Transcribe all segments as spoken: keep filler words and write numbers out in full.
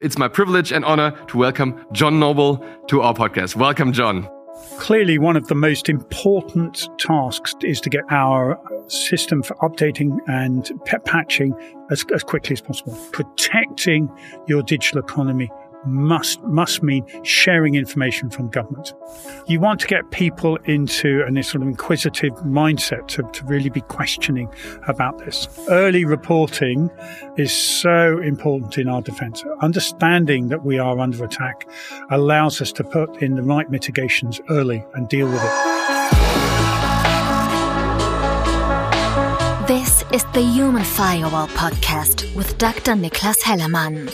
It's my privilege and honor to welcome John Noble to our podcast. Welcome, John. Clearly, one of the most important tasks is to get our system for updating and patching as, as quickly as possible. Protecting your digital economy must must mean sharing information from government. You want to get people into a sort of inquisitive mindset to, to really be questioning about this. Early reporting is so important in our defense. Understanding that we are under attack allows us to put in the right mitigations early and deal with it. This is the Human Firewall Podcast with Doctor Niklas Hellermann.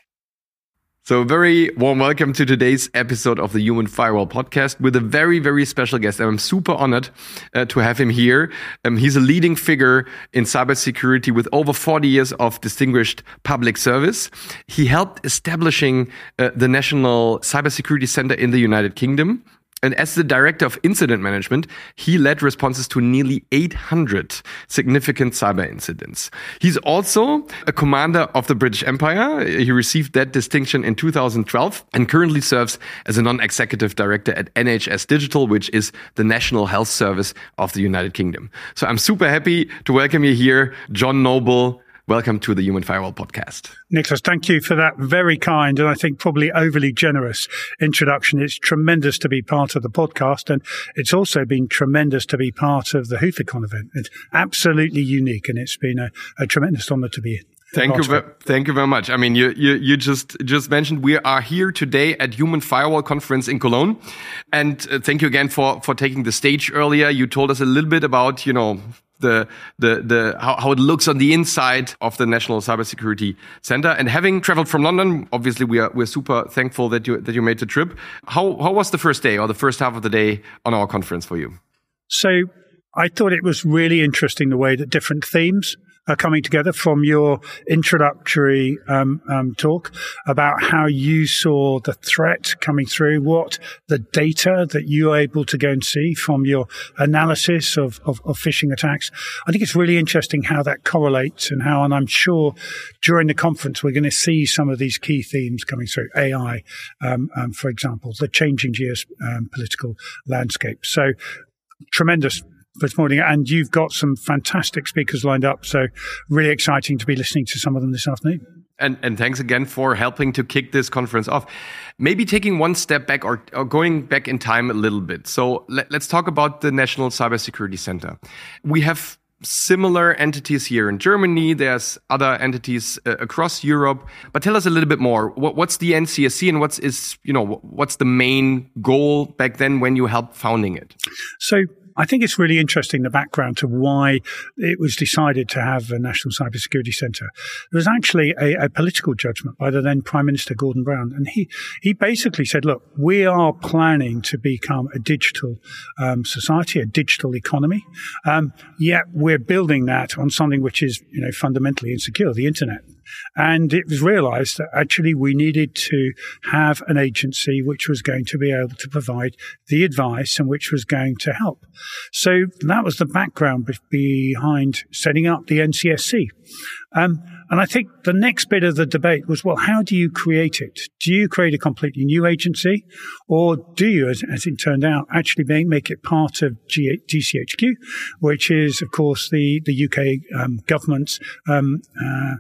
So a very warm welcome to today's episode of the Human Firewall Podcast with a very, very special guest. I'm super honored uh, to have him here. Um, he's a leading figure in cybersecurity with over forty years of distinguished public service. He helped establishing uh, the National Cybersecurity Center in the United Kingdom. And as the director of incident management, he led responses to nearly eight hundred significant cyber incidents. He's also a commander of the British Empire. He received that distinction in two thousand twelve and currently serves as a non-executive director at N H S Digital, which is the National Health Service of the United Kingdom. So I'm super happy to welcome you here, John Noble. Welcome to the Human Firewall Podcast. Niklas, thank you for that very kind and I think probably overly generous introduction. It's tremendous to be part of the podcast, and it's also been tremendous to be part of the Houthicon event. It's absolutely unique, and it's been a, a tremendous honor to be here. Thank you, ve- thank you very much. I mean, you, you, you just, just mentioned we are here today at Human Firewall Conference in Cologne. And uh, thank you again for, for taking the stage earlier. You told us a little bit about, you know, the, the, the, how, how it looks on the inside of the National Cybersecurity Center. And having traveled from London, obviously we are, we're super thankful that you, that you made the trip. How, how was the first day or the first half of the day on our conference for you? So I thought it was really interesting the way that different themes are coming together from your introductory um, um, talk about how you saw the threat coming through, what the data that you were able to go and see from your analysis of, of, of phishing attacks. I think it's really interesting how that correlates and how, and I'm sure during the conference we're going to see some of these key themes coming through. A I, um, um, for example, the changing geopolitical landscape. So tremendous this morning, and you've got some fantastic speakers lined up, so really exciting to be listening to some of them this afternoon. And, and thanks again for helping to kick this conference off. Maybe taking one step back or, or going back in time a little bit. So let, let's talk about the National Cybersecurity Center. We have similar entities here in Germany. There's other entities uh, across Europe. But tell us a little bit more. What, what's the N C S C and what's is you know what's the main goal back then when you helped founding it? So I think it's really interesting, the background to why it was decided to have a National Cybersecurity Centre. There was actually a, a political judgment by the then Prime Minister Gordon Brown. And he, he basically said, look, we are planning to become a digital um, society, a digital economy. Um, yet we're building that on something which is, you know, fundamentally insecure, the internet. And it was realized that actually we needed to have an agency which was going to be able to provide the advice and which was going to help. So that was the background behind setting up the N C S C. Um, and I think the next bit of the debate was, well, how do you create it? Do you create a completely new agency? Or do you, as, as it turned out, actually make, make it part of G- GCHQ, which is, of course, the, the U K um, government's um, uh,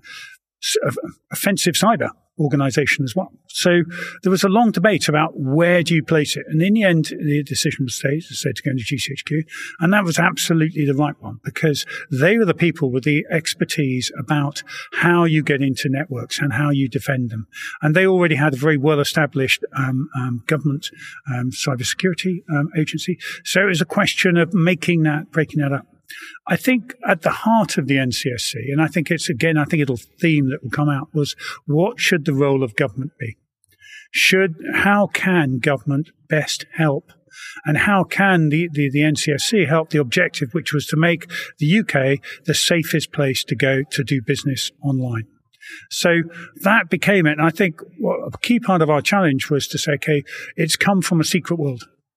offensive cyber organization as well. So there was a long debate about where do you place it. And in the end, the decision was said to go into G C H Q. And that was absolutely the right one, because they were the people with the expertise about how you get into networks and how you defend them. And they already had a very well-established um, um, government um, cybersecurity um, agency. So it was a question of making that, breaking that up. I think at the heart of the N C S C, and I think it's, again, I think it'll theme that will come out, was what should the role of government be? Should, how can government best help? And how can the, the, the N C S C help the objective, which was to make the U K the safest place to go to do business online? So that became it. And I think what a key part of our challenge was to say, okay, it's come from a secret world.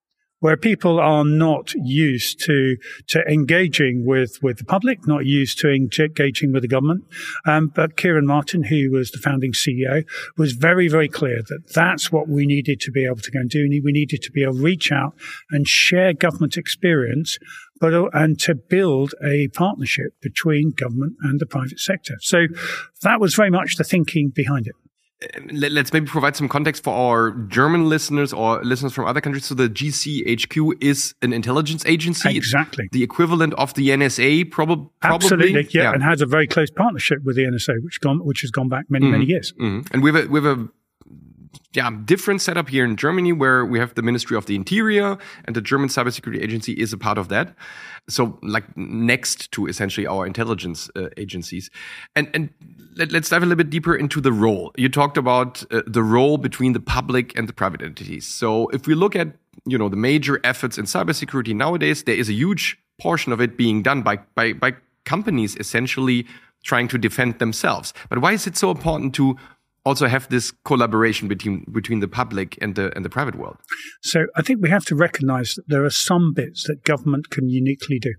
where people are not used to to engaging with, with the public, not used to engaging with the government. Um, but Kieran Martin, who was the founding C E O, was very, very clear that that's what we needed to be able to go and do. We needed to be able to reach out and share government experience, but and to build a partnership between government and the private sector. So that was very much the thinking behind it. Let's maybe provide some context for our German listeners or listeners from other countries. So the G C H Q is an intelligence agency. Exactly. It's the equivalent of the N S A, prob- probably. Absolutely, yeah, yeah, and has a very close partnership with the N S A, which, gone, which has gone back many, mm-hmm. many years. Mm-hmm. And we have a, we have a yeah, different setup here in Germany where we have the Ministry of the Interior and the German Cybersecurity Agency is a part of that. So like next to essentially our intelligence uh, agencies. And and let, let's dive a little bit deeper into the role. You talked about uh, the role between the public and the private entities. So if we look at, you know, the major efforts in cybersecurity nowadays, there is a huge portion of it being done by by by companies essentially trying to defend themselves. But why is it so important to also have this collaboration between between the public and the and the private world? So I think we have to recognize that there are some bits that government can uniquely do.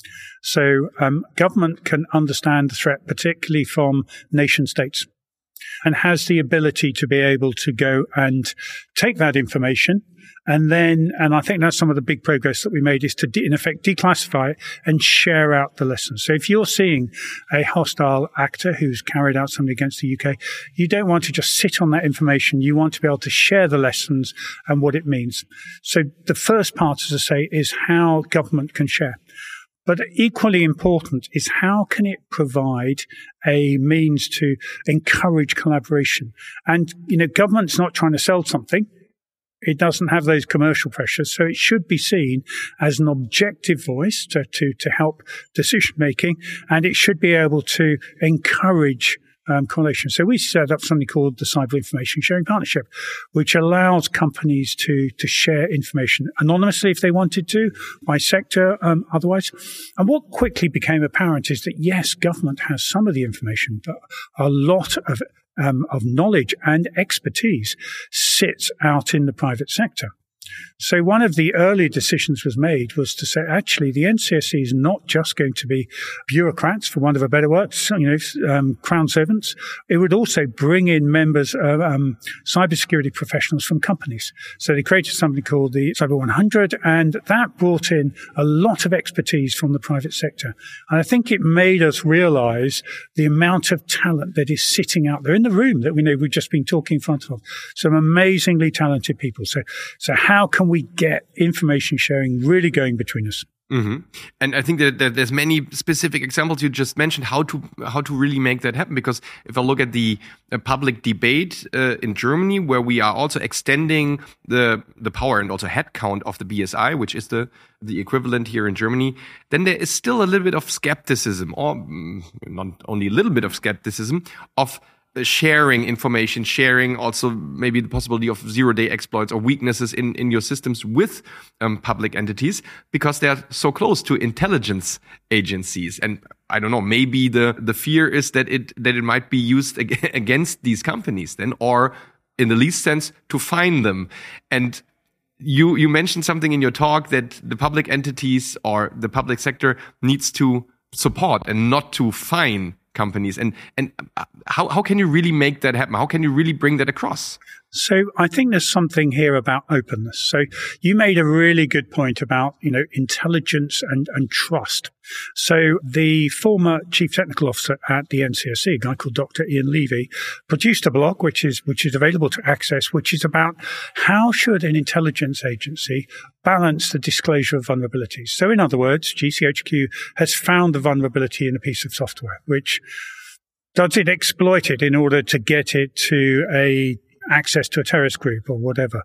So um, government can understand the threat, particularly from nation states, and has the ability to be able to go and take that information. And then, and I think that's some of the big progress that we made, is to, de- in effect, declassify it and share out the lessons. So if you're seeing a hostile actor who's carried out something against the U K, you don't want to just sit on that information. You want to be able to share the lessons and what it means. So the first part, as I say, is how government can share. But equally important is how can it provide a means to encourage collaboration? And, you know, government's not trying to sell something. It doesn't have those commercial pressures. So it should be seen as an objective voice to, to, to help decision making. And it should be able to encourage um, correlation. So we set up something called the Cyber Information Sharing Partnership, which allows companies to, to share information anonymously if they wanted to, by sector, um, otherwise. And what quickly became apparent is that, yes, government has some of the information, but a lot of Um, of knowledge and expertise sits out in the private sector. So one of the early decisions was made was to say, actually, the N C S C is not just going to be bureaucrats, for want of a better word, you know, um, crown servants. It would also bring in members, uh, um, cybersecurity professionals from companies. So they created something called the Cyber one hundred, and that brought in a lot of expertise from the private sector. And I think it made us realize the amount of talent that is sitting out there in the room that we know we've just been talking in front of. Some amazingly talented people. So, so how can we get information sharing really going between us? Mm-hmm. And I think that, that there's many specific examples you just mentioned how to how to really make that happen. Because if I look at the uh, public debate uh, in Germany, where we are also extending the the power and also headcount of the B S I, which is the the equivalent here in Germany, then there is still a little bit of skepticism, or mm, not only a little bit of skepticism, of sharing information, sharing also maybe the possibility of zero-day exploits or weaknesses in, in your systems with um, public entities, because they're so close to intelligence agencies. And I don't know, maybe the, the fear is that it that it might be used ag- against these companies then, or in the least sense, to fine them. And you you mentioned something in your talk that the public entities or the public sector needs to support and not to fine companies. And and how how can you really make that happen? How can you really bring that across? So I think there's something here about openness. So you made a really good point about, you know, intelligence and, and trust. So the former chief technical officer at the N C S C, a guy called Doctor Ian Levy, produced a blog which is which is available to access, which is about how should an intelligence agency balance the disclosure of vulnerabilities. So in other words, G C H Q has found the vulnerability in a piece of software, which does it exploit it in order to get it to a access to a terrorist group or whatever.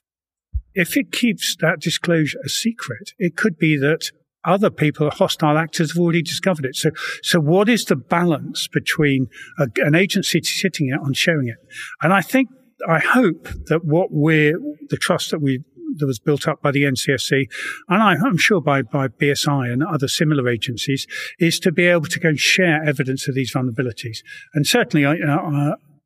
If it keeps that disclosure a secret, it could be that other people, hostile actors, have already discovered it. So, so what is the balance between a, an agency sitting out and sharing it? And I think, I hope that what we're, the trust that we, that was built up by the N C S C, and I, I'm sure by, by B S I and other similar agencies, is to be able to go and share evidence of these vulnerabilities. And certainly, I, uh,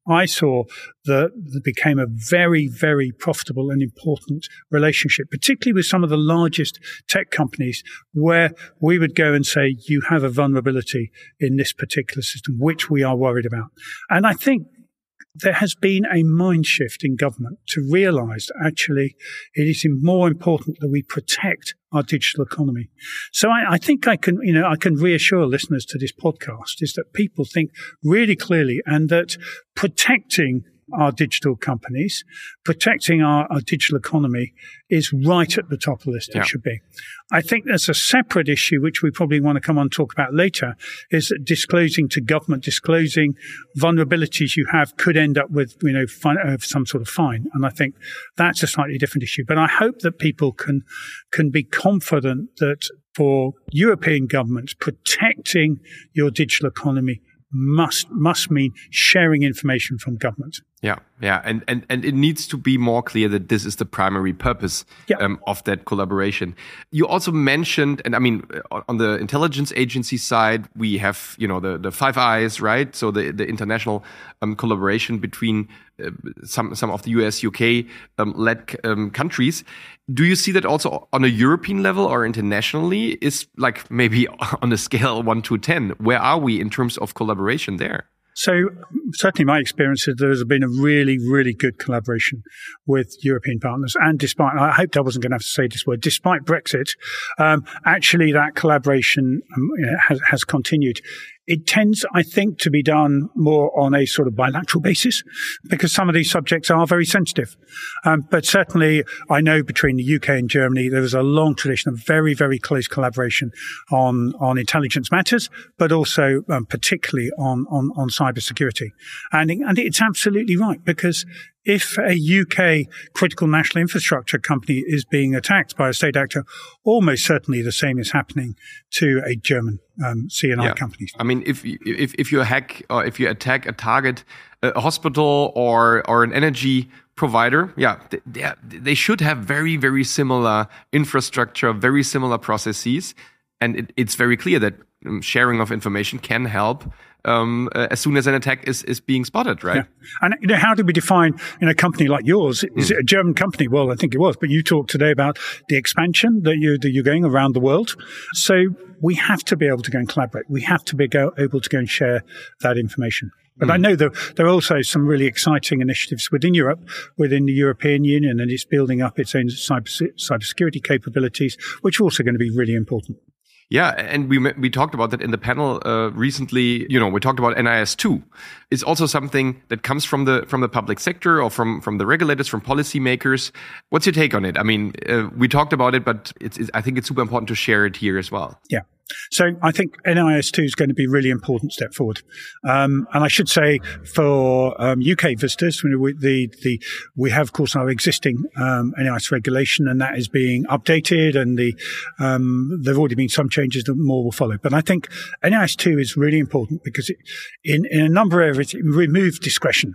I saw that it became a very, very profitable and important relationship, particularly with some of the largest tech companies, where we would go and say, you have a vulnerability in this particular system, which we are worried about. And I think there has been a mind shift in government to realize that actually it is more important that we protect our digital economy. So I, I think I can, you know, I can reassure listeners to this podcast is that people think really clearly, and that protecting our digital companies, protecting our, our digital economy is right at the top of the list. Yeah. It should be. I think there's a separate issue, which we probably want to come on and talk about later, is that disclosing to government, disclosing vulnerabilities you have could end up with, you know, fine, uh, some sort of fine. And I think that's a slightly different issue. But I hope that people can, can be confident that for European governments, protecting your digital economy must must mean sharing information from government. Yeah, yeah, and, and and it needs to be more clear that this is the primary purpose yeah. um, of that collaboration. You also mentioned, and I mean, on the intelligence agency side, we have, you know, the, the Five Eyes, right? So the the international um, collaboration between uh, some some of the U S, U K um, led um, countries. Do you see that also on a European level or internationally? Is like maybe on a scale one to ten, where are we in terms of collaboration there? So certainly my experience is there's been a really, really good collaboration with European partners. And despite, I hoped I wasn't going to have to say this word, despite Brexit, um, actually that collaboration um, you know, has, has continued. It tends, I think, to be done more on a sort of bilateral basis because some of these subjects are very sensitive. Um, but certainly, I know between the U K and Germany, there was a long tradition of very, very close collaboration on, on intelligence matters, but also um, particularly on, on, on cybersecurity. And, and it's absolutely right because if a U K critical national infrastructure company is being attacked by a state actor, almost certainly the same is happening to a German um, C and I yeah. company. I mean, if if if you hack or if you attack a target, a hospital or or an energy provider, yeah, they, they should have very very similar infrastructure, very similar processes, and it, it's very clear that sharing of information can help. Um, uh, as soon as an attack is, is being spotted, right? Yeah. And you know, how do we define in a company like yours? Is mm. it a German company? Well, I think it was, but you talked today about the expansion that, you, that you're going around the world. So we have to be able to go and collaborate. We have to be go, able to go and share that information. But mm. I know that there are also some really exciting initiatives within Europe, within the European Union, and it's building up its own cyber, cybersecurity capabilities, which are also going to be really important. Yeah, and we we talked about that in the panel uh, recently. You know, we talked about N I S two. It's also something that comes from the from the public sector or from from the regulators, from policymakers. What's your take on it? I mean, uh, we talked about it, but it's, it's, I think it's super important to share it here as well. Yeah. So I think N I S two is going to be a really important step forward. Um, and I should say for um, U K visitors, we, the, the, we have, of course, our existing um, N I S regulation, and that is being updated, and the um, there have already been some changes that more will follow. But I think N I S two is really important because it, in, in a number of areas, it removes discretion.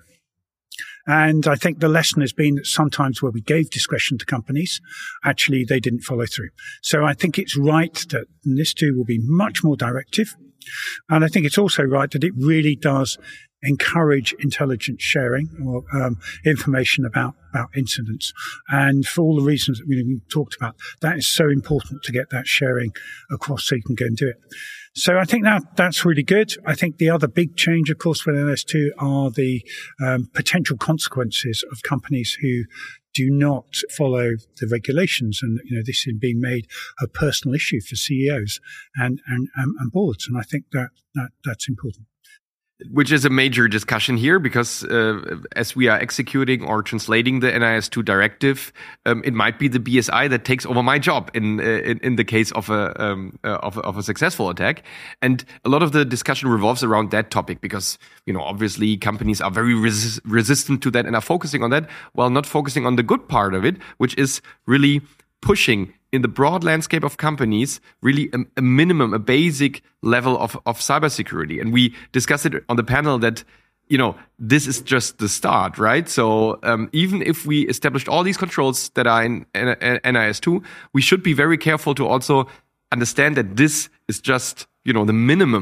And I think the lesson has been that sometimes where we gave discretion to companies, actually they didn't follow through. So I think it's right that N I S two will be much more directive. And I think it's also right that it really does encourage intelligence sharing or um, information about, about incidents. And for all the reasons that we talked about, that is so important to get that sharing across so you can go and do it. So I think that that's really good. I think the other big change, of course, with N I S two are the um, potential consequences of companies who do not follow the regulations. And, you know, this is being made a personal issue for C E Os and, and, and boards. And I think that, that that's important. Which is a major discussion here because uh, as we are executing or translating the N I S two directive, um, it might be the B S I that takes over my job in uh, in, in the case of a, um, uh, of a of a successful attack. And a lot of the discussion revolves around that topic because, you know, obviously companies are very res- resistant to that and are focusing on that while not focusing on the good part of it, which is really pushing in the broad landscape of companies, really a, a minimum, a basic level of, of cybersecurity. And we discussed it on the panel that, you know, this is just the start, right? So um, even if we established all these controls that are in N I S two, we should be very careful to also understand that this is just, you know, the minimum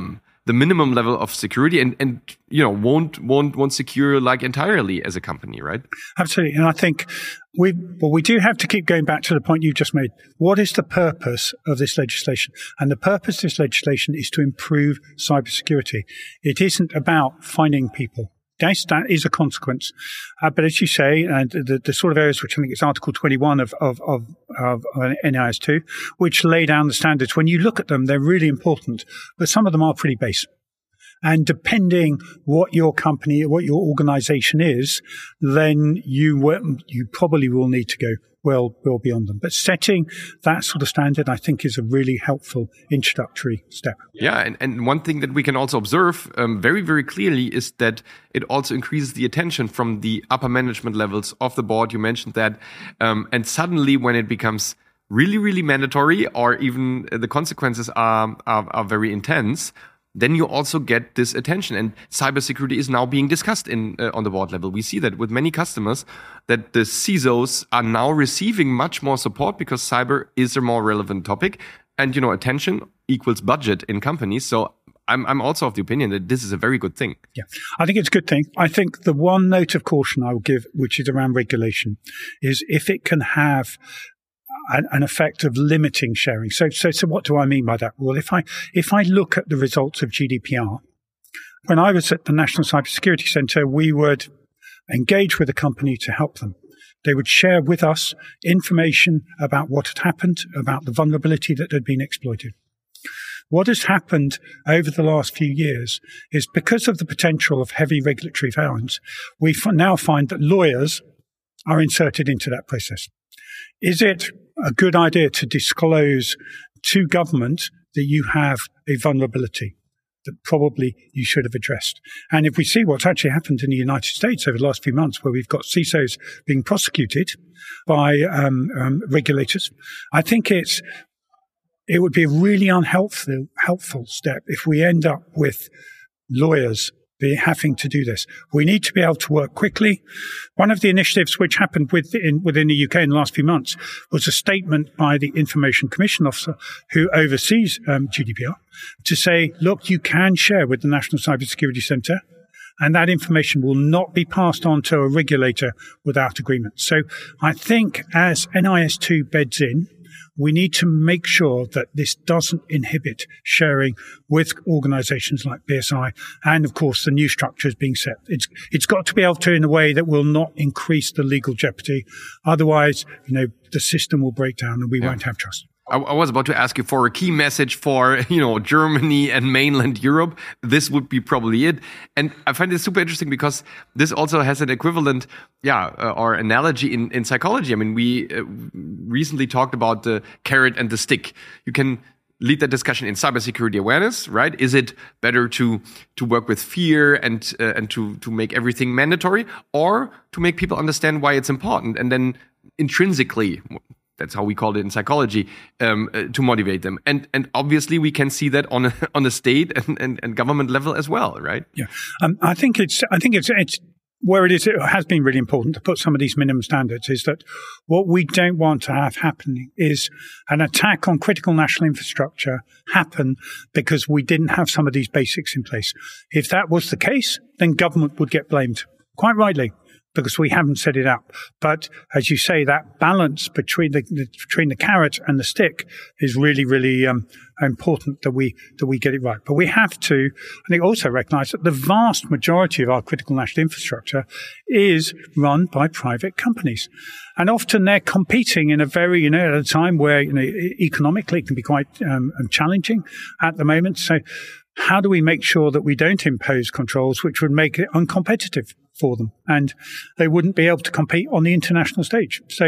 the minimum level of security and, and you know, won't, won't, won't secure like entirely as a company, right? Absolutely. And I think we, well, we do have to keep going back to the point you just made. What is the purpose of this legislation? And the purpose of this legislation is to improve cybersecurity. It isn't about finding people. Yes, that is a consequence. Uh, but as you say, and the, the sort of areas which I think is Article twenty-one of, of, of, of N I S two, which lay down the standards, when you look at them, they're really important, but some of them are pretty basic. And depending what your company, what your organization is, then you will, you probably will need to go well, well beyond them. But setting that sort of standard, I think, is a really helpful introductory step. Yeah, and, and one thing that we can also observe um, very, very clearly is that it also increases the attention from the upper management levels of the board. You mentioned that. Um, and suddenly when it becomes really, really mandatory, or even the consequences are, are, are very intense, then you also get this attention. And cybersecurity is now being discussed in uh, on the board level. We see that with many customers, that the C I S Os are now receiving much more support because cyber is a more relevant topic. And, you know, attention equals budget in companies. So I'm I'm also of the opinion that this is a very good thing. Yeah, I think it's a good thing. I think the one note of caution I will give, which is around regulation, is if it can have an effect of limiting sharing. So, so, so what do I mean by that? Well, if I, if I look at the results of G D P R, when I was at the National Cybersecurity Centre, we would engage with a company to help them. They would share with us information about what had happened, about the vulnerability that had been exploited. What has happened over the last few years is because of the potential of heavy regulatory violence, we now find that lawyers are inserted into that process. Is it a good idea to disclose to government that you have a vulnerability that probably you should have addressed? And if we see what's actually happened in the United States over the last few months, where we've got C I S Os being prosecuted by um, um, regulators, I think it's it would be a really unhelpful helpful step if we end up with lawyers be having to do this. We need to be able to work quickly. One of the initiatives which happened within, within the U K in the last few months was a statement by the Information Commission Officer who oversees um, G D P R to say, look, you can share with the National Cybersecurity Centre, and that information will not be passed on to a regulator without agreement. So I think as N I S two beds in, we need to make sure that this doesn't inhibit sharing with organizations like B S I and, of course, the new structures being set. It's it's got to be able to in a way that will not increase the legal jeopardy. Otherwise, you know, the system will break down and we yeah. won't have trust. I, I was about to ask you for a key message for, you know, Germany and mainland Europe. This would be probably it. And I find this super interesting because this also has an equivalent, yeah, uh, or analogy in, in psychology. I mean, we uh, recently talked about the carrot and the stick. You can lead that discussion in cybersecurity awareness, right? Is it better to to work with fear and uh, and to to make everything mandatory, or to make people understand why it's important and then intrinsically, that's how we call it in psychology, um, uh, to motivate them. And and obviously we can see that on a, on a state and, and, and government level as well, right? Yeah, um, I think it's I think it's it's where it is. It has been really important to put some of these minimum standards. Is that what we don't want to have happening is an attack on critical national infrastructure happen because we didn't have some of these basics in place. If that was the case, then government would get blamed, quite rightly, because we haven't set it up. But as you say, that balance between the, the between the carrot and the stick is really, really um, important that we that we get it right. But we have to, I think, also recognise that the vast majority of our critical national infrastructure is run by private companies, and often they're competing in a very, you know, at a time where, you know, economically it can be quite um, challenging at the moment. So, how do we make sure that we don't impose controls which would make it uncompetitive for them and they wouldn't be able to compete on the international stage? So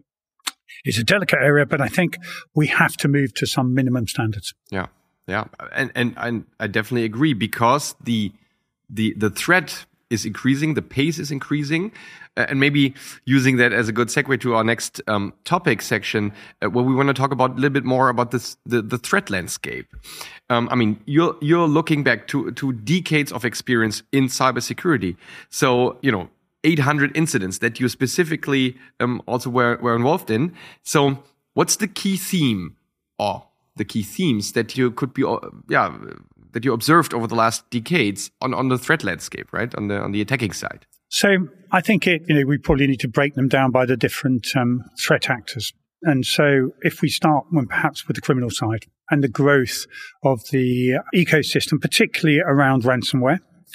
it's a delicate area, but I think we have to move to some minimum standards. Yeah, yeah, and and, and I definitely agree because the the the threat is increasing, the pace is increasing, uh, and maybe using that as a good segue to our next um, topic section, uh, where we want to talk about a little bit more about this the, the threat landscape. Um, I mean, you're you're looking back to to decades of experience in cybersecurity, so you know eight hundred incidents that you specifically um, also were were involved in. So, what's the key theme or the key themes that you could be, uh, yeah, that you observed over the last decades on, on the threat landscape, right? On the on the attacking side. So I think it, you know, we probably need to break them down by the different um, threat actors. And so if we start when perhaps with the criminal side and the growth of the ecosystem, particularly around ransomware,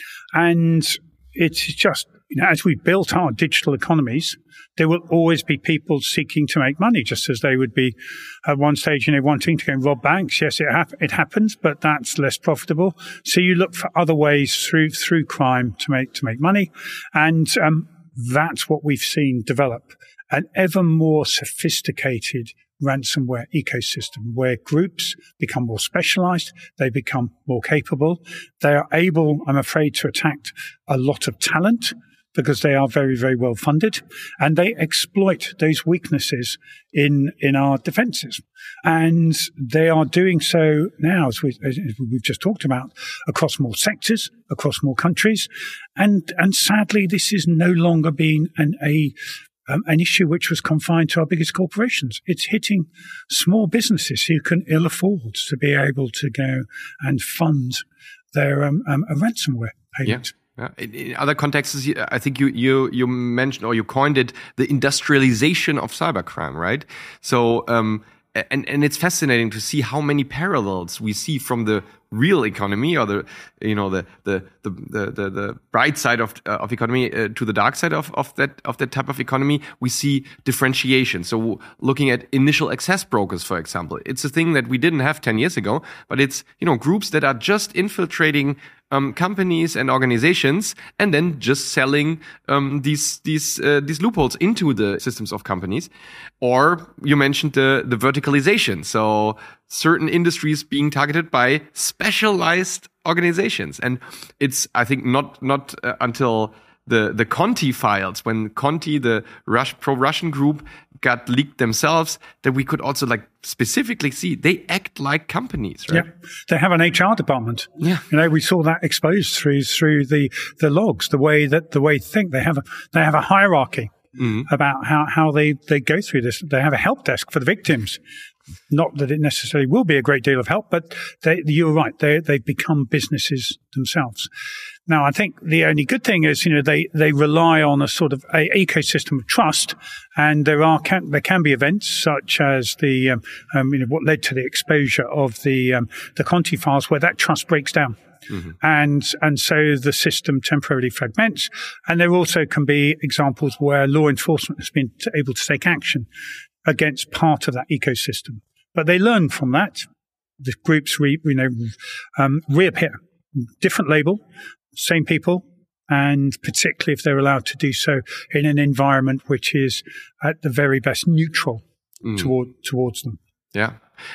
and it's just, you know, as we built our digital economies, there will always be people seeking to make money, just as they would be at one stage, you know, wanting to go and rob banks. Yes, it, hap- it happens, but that's less profitable. So you look for other ways through through crime to make to make money, and um, that's what we've seen develop. An ever more sophisticated ransomware ecosystem where groups become more specialized, they become more capable. They are able, I'm afraid, to attack a lot of talent because they are very, very well funded, and they exploit those weaknesses in in our defenses. And they are doing so now, as, we, as we've just talked about, across more sectors, across more countries. And, and sadly, this is no longer being an, a Um, an issue which was confined to our biggest corporations. It's hitting small businesses who can ill afford to be able to go and fund their um, um, a ransomware payment. Yeah. Yeah. In, in other contexts, I think you, you you mentioned or you coined it the industrialization of cybercrime, right? So, um, and and it's fascinating to see how many parallels we see from the real economy, or the you know the the the the, the, the bright side of uh, of economy uh, to the dark side of of that of that type of economy. We see differentiation. So looking at initial access brokers, for example, it's a thing that we didn't have ten years ago, but it's you know groups that are just infiltrating Um, companies and organizations, and then just selling um, these these uh, these loopholes into the systems of companies. Or you mentioned the the verticalization, so certain industries being targeted by specialized organizations, and it's I think not not uh, until the the Conti files, when Conti, the Rus- pro-Russian group, got leaked themselves, that we could also like specifically see they act like companies, right? Yeah, they have an H R department. Yeah, you know, we saw that exposed through through the the logs, the way that the way they think they have a they have a hierarchy mm-hmm. about how how they they go through this. They have a help desk for the victims. Not that it necessarily will be a great deal of help, but they, you're right. They they've become businesses themselves. Now, I think the only good thing is, you know, they, they rely on a sort of a ecosystem of trust, and there are can, there can be events such as the um, um, you know what led to the exposure of the um, the Conti files where that trust breaks down. Mm-hmm. And and so the system temporarily fragments, and there also can be examples where law enforcement has been t- able to take action against part of that ecosystem. But they learn from that. The groups re, you know um, reappear, different label, same people, and particularly if they're allowed to do so in an environment which is at the very best neutral mm. toward towards them. Yeah.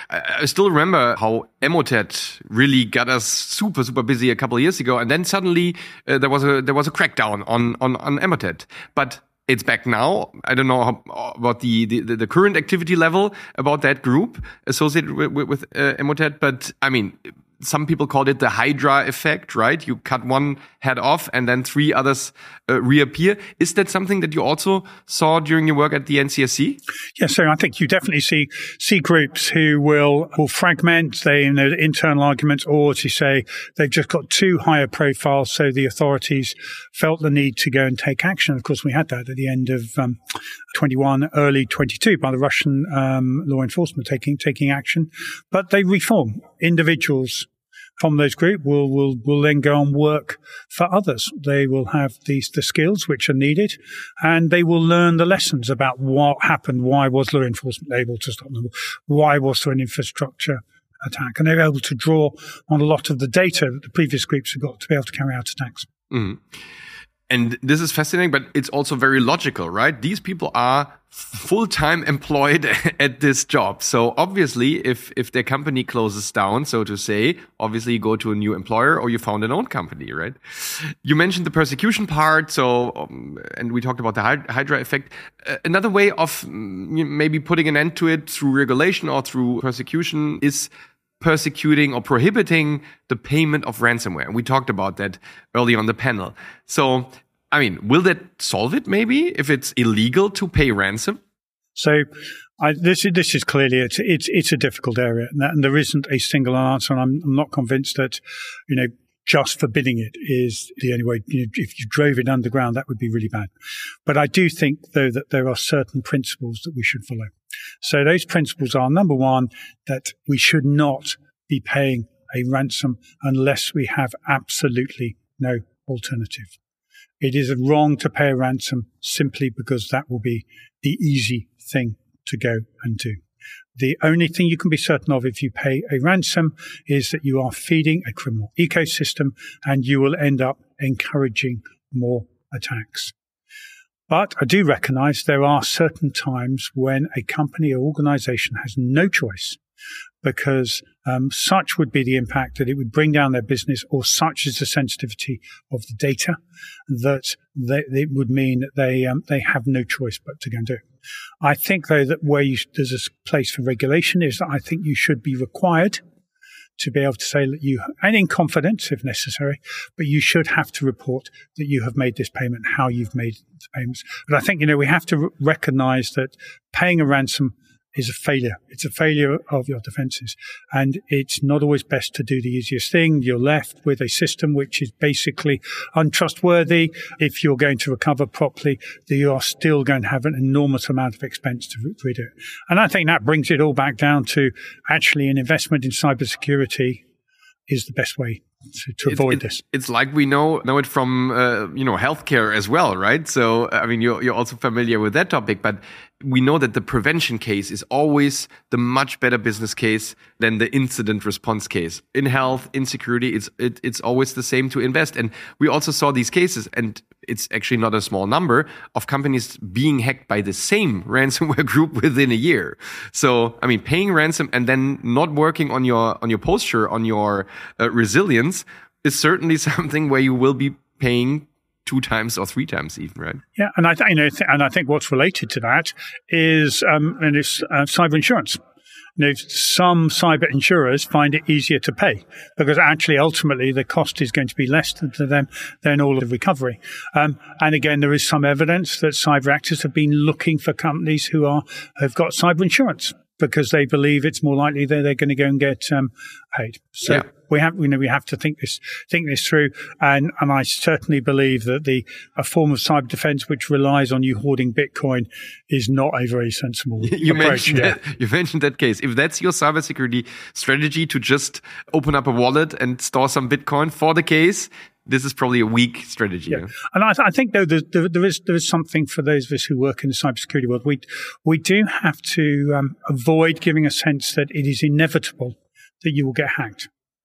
I still remember how Emotet really got us super, super busy a couple of years ago, and then suddenly uh, there was a there was a crackdown on on on Emotet. But it's back now. I don't know how, about the, the the current activity level about that group associated with, with, with uh, Emotet, but I mean, some people called it the Hydra effect, right? You cut one head off and then three others uh, reappear. Is that something that you also saw during your work at the N C S C? Yes, so I think you definitely see see groups who will will fragment they in their internal arguments, or to say they've just got too high a profile, so the authorities felt the need to go and take action. Of course, we had that at the end of um, twenty-one, early twenty-two, by the Russian um, law enforcement taking taking action. But they reform. Individuals from those group will, will, will then go and work for others. They will have these, the skills which are needed, and they will learn the lessons about what happened. Why was law enforcement able to stop them? Why was there an infrastructure attack? And they're able to draw on a lot of the data that the previous groups have got to be able to carry out attacks. Mm. And this is fascinating, but it's also very logical, right? These people are full-time employed at this job. So obviously, if if their company closes down, so to say, obviously you go to a new employer or you found an own company, right? You mentioned the persecution part, so um, and we talked about the Hydra effect. Uh, another way of um, maybe putting an end to it through regulation or through persecution is persecuting or prohibiting the payment of ransomware. And we talked about that early on the panel. So, I mean, will that solve it maybe if it's illegal to pay ransom? So I, this, is, this is clearly, it's, it's, it's a difficult area, and, that, and there isn't a single answer, and I'm, I'm not convinced that, you know, just forbidding it is the only way. You know, if you drove it underground, that would be really bad. But I do think, though, that there are certain principles that we should follow. So those principles are, number one, that we should not be paying a ransom unless we have absolutely no alternative. It is wrong to pay a ransom simply because that will be the easy thing to go and do. The only thing you can be certain of if you pay a ransom is that you are feeding a criminal ecosystem and you will end up encouraging more attacks. But I do recognize there are certain times when a company or organization has no choice because um, such would be the impact that it would bring down their business, or such is the sensitivity of the data that they, it would mean that they um, they have no choice but to go and do it. I think, though, that where you, there's a place for regulation is that I think you should be required to be able to say that you, and in confidence if necessary, but you should have to report that you have made this payment, how you've made the payments. But I think, you know, we have to r- recognize that paying a ransom is a failure. It's a failure of your defenses. And it's not always best to do the easiest thing. You're left with a system which is basically untrustworthy. If you're going to recover properly, you are still going to have an enormous amount of expense to rid it. And I think that brings it all back down to actually an investment in cybersecurity is the best way to, to avoid it, this. It's like we know know it from uh, you know healthcare as well, right? So I mean, you're you're also familiar with that topic, but we know that the prevention case is always the much better business case than the incident response case. In health, in security, it's it, it's always the same to invest. And we also saw these cases, and it's actually not a small number of companies being hacked by the same ransomware group within a year. So, I mean, paying ransom and then not working on your on your posture, on your uh, resilience is certainly something where you will be paying two times or three times even, right? Yeah, and I, th- you know, th- and I think what's related to that is um, and it's uh, cyber insurance. You know, some cyber insurers find it easier to pay because actually, ultimately, the cost is going to be less to, to them than all of the recovery. Um, and again, there is some evidence that cyber actors have been looking for companies who are have got cyber insurance because they believe it's more likely that they're going to go and get um, paid. So yeah. we have, you know, we have to think this think this through. And and I certainly believe that the a form of cyber defense which relies on you hoarding Bitcoin is not a very sensible you approach. Mentioned yeah. that, you mentioned that case. If that's your cybersecurity strategy to just open up a wallet and store some Bitcoin for the case, this is probably a weak strategy. Yeah. Yeah? And I, th- I think, though, there, there, there is there is something for those of us who work in the cybersecurity world. We, we do have to um, avoid giving a sense that it is inevitable that you will get hacked.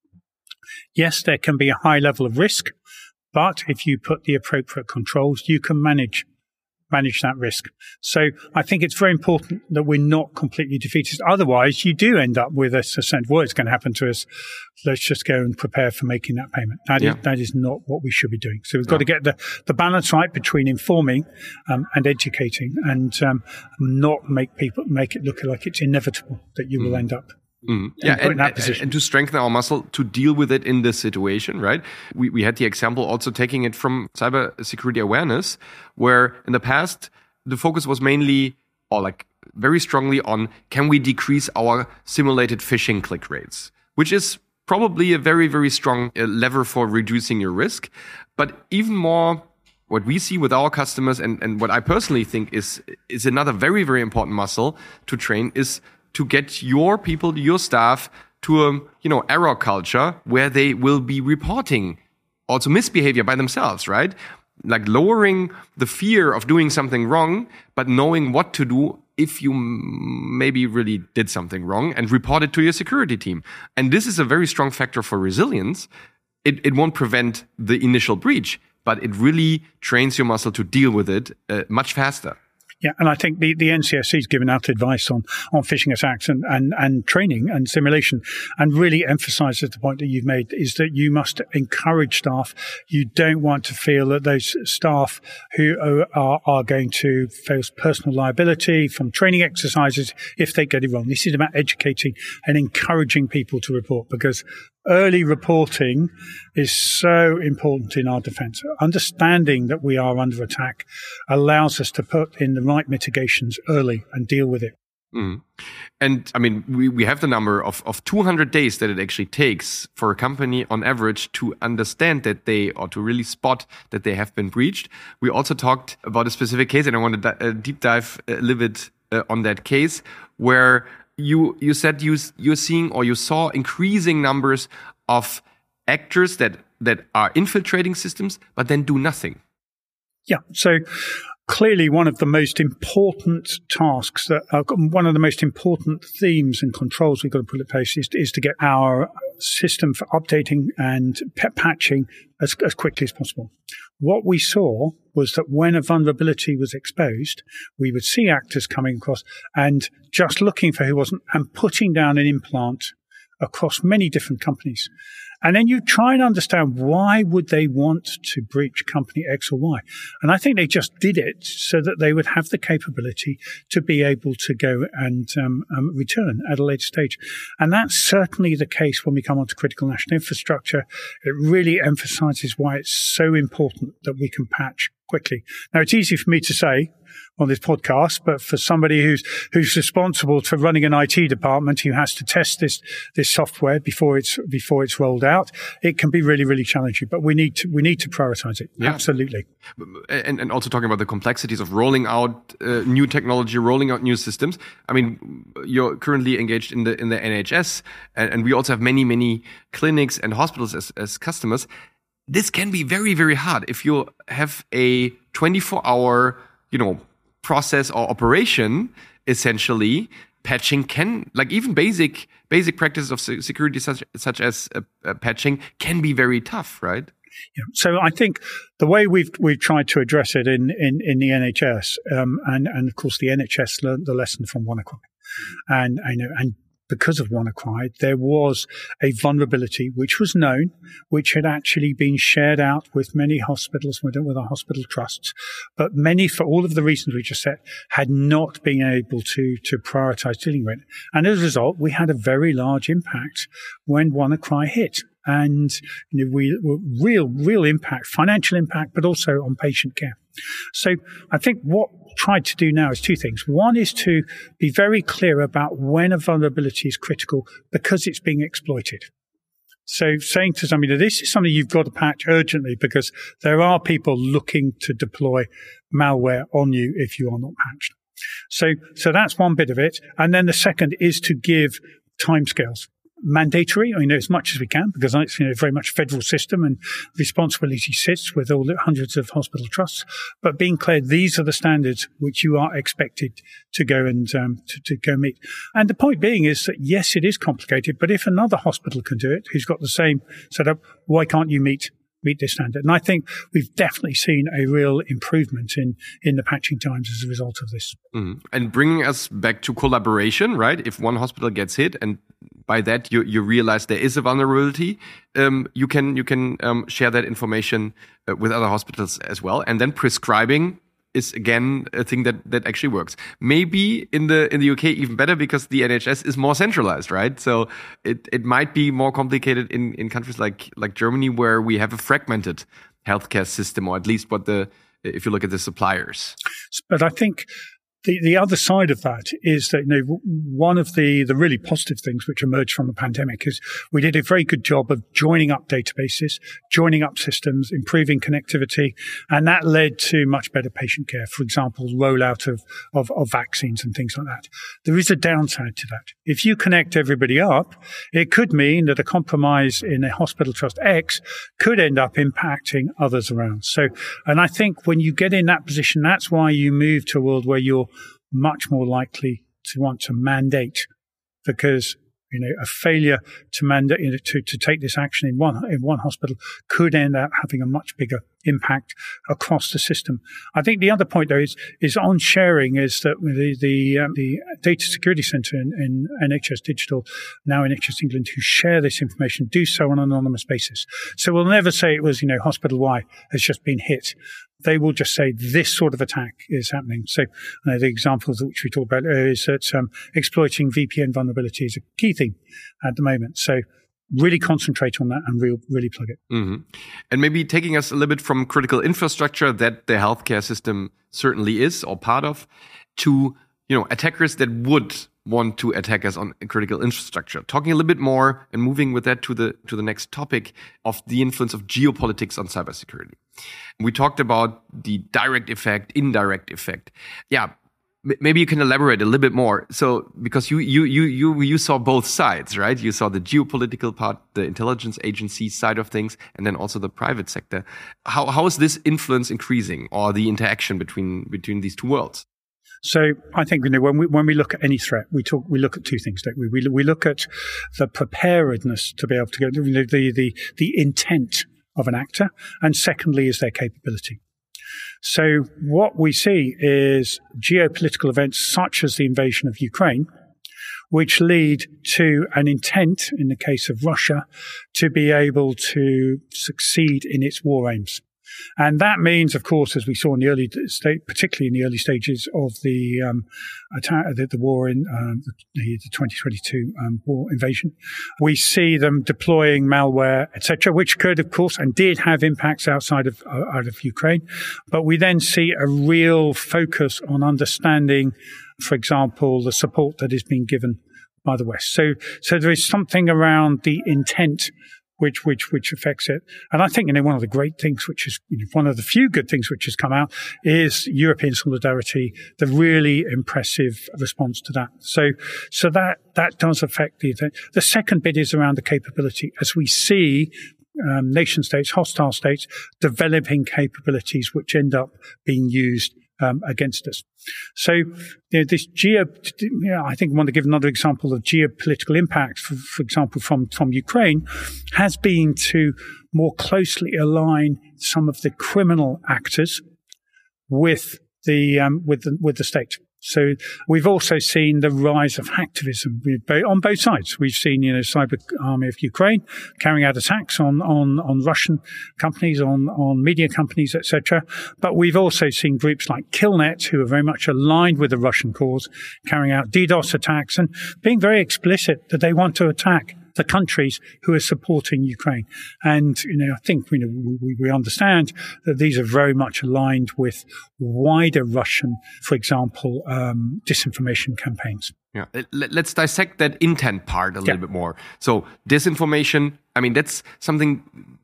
Yes, there can be a high level of risk, but if you put the appropriate controls, you can manage manage that risk. So I think it's very important that we're not completely defeatist. Otherwise, you do end up with a sense, well, it's going to happen to us. Let's just go and prepare for making that payment. That, yeah. is, that is not what we should be doing. So we've got yeah. to get the, the balance right between informing um, and educating and um, not make people make it look like it's inevitable that you mm. will end up Mm. Yeah, and, and, and to strengthen our muscle to deal with it in this situation, right? We we had the example also taking it from cybersecurity awareness, where in the past the focus was mainly, or like very strongly on, can we decrease our simulated phishing click rates, which is probably a very, very strong uh, lever for reducing your risk. But even more, what we see with our customers and, and what I personally think is is another very, very important muscle to train is to get your people, your staff, to a you know error culture where they will be reporting also misbehavior by themselves, right? Like lowering the fear of doing something wrong, but knowing what to do if you maybe really did something wrong and report it to your security team. And this is a very strong factor for resilience. It, it won't prevent the initial breach, but it really trains your muscle to deal with it uh, much faster. Yeah, and I think the, the N C S C has given out advice on, on phishing attacks and, and, and training and simulation, and really emphasizes the point that you've made is that you must encourage staff. You don't want to feel that those staff who are, are going to face personal liability from training exercises if they get it wrong. This is about educating and encouraging people to report, because early reporting is so important in our defense. Understanding that we are under attack allows us to put in the right mitigations early and deal with it. Mm. And I mean, we, we have the number of, of two hundred days that it actually takes for a company on average to understand that they, or to really spot that they have been breached. We also talked about a specific case, and I want to di- uh, deep dive a little bit uh, on that case, where you you said you, you're seeing, or you saw increasing numbers of actors that, that are infiltrating systems, but then do nothing. Yeah, so clearly one of the most important tasks, that uh, one of the most important themes and controls we've got to put in place is, is to get our system for updating and p- patching as, as quickly as possible. What we saw was that when a vulnerability was exposed, we would see actors coming across and just looking for who wasn't and putting down an implant across many different companies. And then you try and understand, why would they want to breach company X or Y? And I think they just did it so that they would have the capability to be able to go and um, um, return at a later stage. And that's certainly the case when we come on to critical national infrastructure. It really emphasizes why it's so important that we can patch quickly. Now, it's easy for me to say on this podcast, but for somebody who's who's responsible for running an I T department, who has to test this this software before it's before it's rolled out, it can be really really challenging. But we need to we need to prioritize it. Yeah. Absolutely. And and also talking about the complexities of rolling out uh, new technology, rolling out new systems. I mean, you're currently engaged in the in the N H S, and, and we also have many many clinics and hospitals as as customers. This can be very very hard if you have a twenty-four hour, you know, process or operation. Essentially, patching can, like even basic basic practices of security such such as uh, uh, patching can be very tough, right? Yeah. So I think the way we've we've tried to address it in in, in the N H S, um, and and of course the N H S learned the lesson from WannaCry, and I know and. Because of WannaCry, there was a vulnerability which was known, which had actually been shared out with many hospitals, with, with our hospital trusts, but many, for all of the reasons we just said, had not been able to, to prioritize dealing with it. And as a result, we had a very large impact when WannaCry hit. And you know, we real, real impact, financial impact, but also on patient care. So I think what we tried to do now is two things. One is to be very clear about when a vulnerability is critical because it's being exploited. So saying to somebody, this is something you've got to patch urgently because there are people looking to deploy malware on you if you are not patched. So, so that's one bit of it. And then the second is to give timescales. Mandatory, I mean, as much as we can, because it's, you know, very much federal system and responsibility sits with all the hundreds of hospital trusts. But being clear, these are the standards which you are expected to go and um, to, to go meet. And the point being is that yes, it is complicated, but if another hospital can do it, who's got the same setup, why can't you meet meet this standard? And I think we've definitely seen a real improvement in, in the patching times as a result of this. Mm. And bringing us back to collaboration, right? If one hospital gets hit and by that you, you realize there is a vulnerability, um, you can you can um, share that information uh, with other hospitals as well. And then prescribing is again a thing that, that actually works. Maybe in the in the U K even better because the N H S is more centralized, right? So it, it might be more complicated in, in countries like like Germany where we have a fragmented healthcare system, or at least what the if you look at the suppliers. But I think The, the other side of that is that, you know, one of the, the really positive things which emerged from the pandemic is we did a very good job of joining up databases, joining up systems, improving connectivity, and that led to much better patient care. For example, rollout of, of, of vaccines and things like that. There is a downside to that. If you connect everybody up, it could mean that a compromise in a hospital trust X could end up impacting others around. So, and I think when you get in that position, that's why you move to a world where you're much more likely to want to mandate, because you know a failure to mandate you know, to to take this action in one in one hospital could end up having a much bigger impact across the system. I think the other point though is is on sharing is that the the, um, the Data Security Centre in, in N H S Digital, now N H S England, who share this information do so on an anonymous basis. So we'll never say it was you know hospital Y has just been hit. They will just say this sort of attack is happening. So uh, the examples which we talked about earlier is that um, exploiting V P N vulnerability is a key thing at the moment. So really concentrate on that and real, really plug it. Mm-hmm. And maybe taking us a little bit from critical infrastructure that the healthcare system certainly is or part of to you know, attackers that would want to attack us on critical infrastructure. Talking a little bit more and moving with that to the to the next topic of the influence of geopolitics on cybersecurity. We talked about the direct effect, indirect effect. Yeah, m- maybe you can elaborate a little bit more. So, because you you you you you saw both sides, right? You saw the geopolitical part, the intelligence agency side of things, and then also the private sector. How how is this influence increasing, or the interaction between between these two worlds? So I think, you know, when we when we look at any threat, we talk we look at two things, don't we? We we look at the preparedness to be able to go, you know, the the the intent of an actor, and secondly is their capability. So what we see is geopolitical events such as the invasion of Ukraine, which lead to an intent, in the case of Russia, to be able to succeed in its war aims. And that means, of course, as we saw in the early state, particularly in the early stages of the um, attack, the, the war in um, the, the twenty twenty-two um, war invasion, we see them deploying malware, et cetera, which could, of course, and did have impacts outside of uh, out of Ukraine. But we then see a real focus on understanding, for example, the support that is being given by the West. So, so there is something around the intent which which which affects it. And I think, you know, one of the great things, which is, you know, one of the few good things which has come out, is European solidarity, the really impressive response to that. So so that that does affect the event. The second bit is around the capability. As we see um, nation states, hostile states, developing capabilities which end up being used Um, against us. So, you know, this geo, you know, I think I want to give another example of geopolitical impact, for, for example, from, from Ukraine, has been to more closely align some of the criminal actors with the, um, with the, with the state. So we've also seen the rise of hacktivism on both sides. We've seen, you know, Cyber Army of Ukraine carrying out attacks on, on, on Russian companies, on, on media companies, et cetera. But we've also seen groups like Killnet, who are very much aligned with the Russian cause, carrying out DDoS attacks and being very explicit that they want to attack the countries who are supporting Ukraine. And, you know, I think, you know, we, we understand that these are very much aligned with wider Russian, for example, um, disinformation campaigns. Yeah. Let's dissect that intent part a little yeah. bit more. So disinformation, I mean, that's something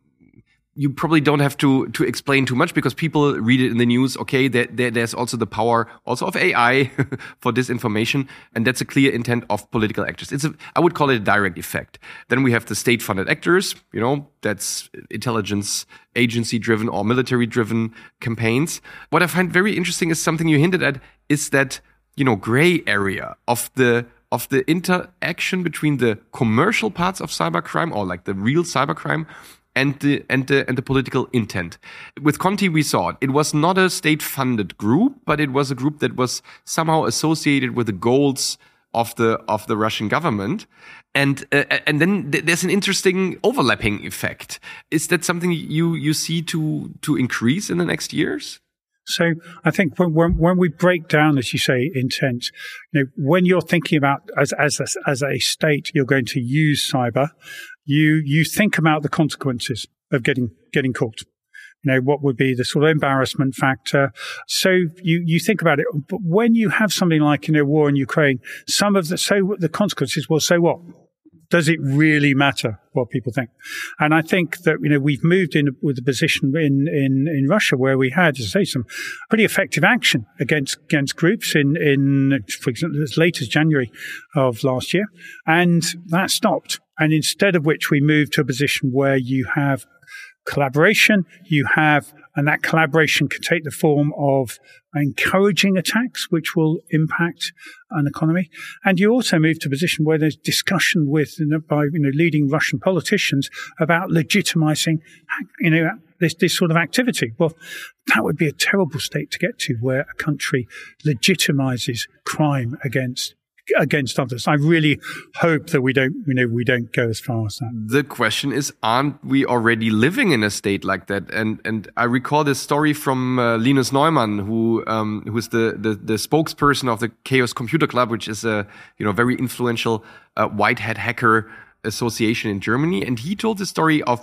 you probably don't have to to explain too much, because people read it in the news. Okay, there, there, there's also the power also of A I for disinformation, and that's a clear intent of political actors. It's a, I would call it a direct effect. Then we have the state-funded actors. You know, that's intelligence agency-driven or military-driven campaigns. What I find very interesting is something you hinted at, is that, you know, gray area of the of the interaction between the commercial parts of cybercrime, or like the real cybercrime, and the and the and the political intent. With Conti, we saw it. It was not a state-funded group, but it was a group that was somehow associated with the goals of the of the Russian government. And uh, and then th- there's an interesting overlapping effect. Is that something you you see to to increase in the next years? So I think when, when when we break down, as you say, intent, you know, when you're thinking about as as a, as a state, you're going to use cyber, you you think about the consequences of getting getting caught. You know, what would be the sort of embarrassment factor? So you you think about it. But when you have something like, you know, war in Ukraine, some of the so the consequences. Well, so what? Does it really matter what people think? And I think that, you know, we've moved in with a position in, in, in Russia where we had, as I say, some pretty effective action against, against groups in, in, for example, as late as January of last year. And that stopped. And instead of which we moved to a position where you have collaboration, you have, and that collaboration can take the form of encouraging attacks, which will impact an economy. And you also move to a position where there's discussion with, you know, by, you know, leading Russian politicians about legitimizing, you know, this, this sort of activity. Well, that would be a terrible state to get to, where a country legitimizes crime against against others. I really hope that we don't, you know, we don't go as far as that. The question is, aren't we already living in a state like that? And and I recall this story from uh, Linus Neumann, who um, who is the, the the spokesperson of the Chaos Computer Club, which is a, you know, very influential uh, white hat hacker association in Germany. And he told the story of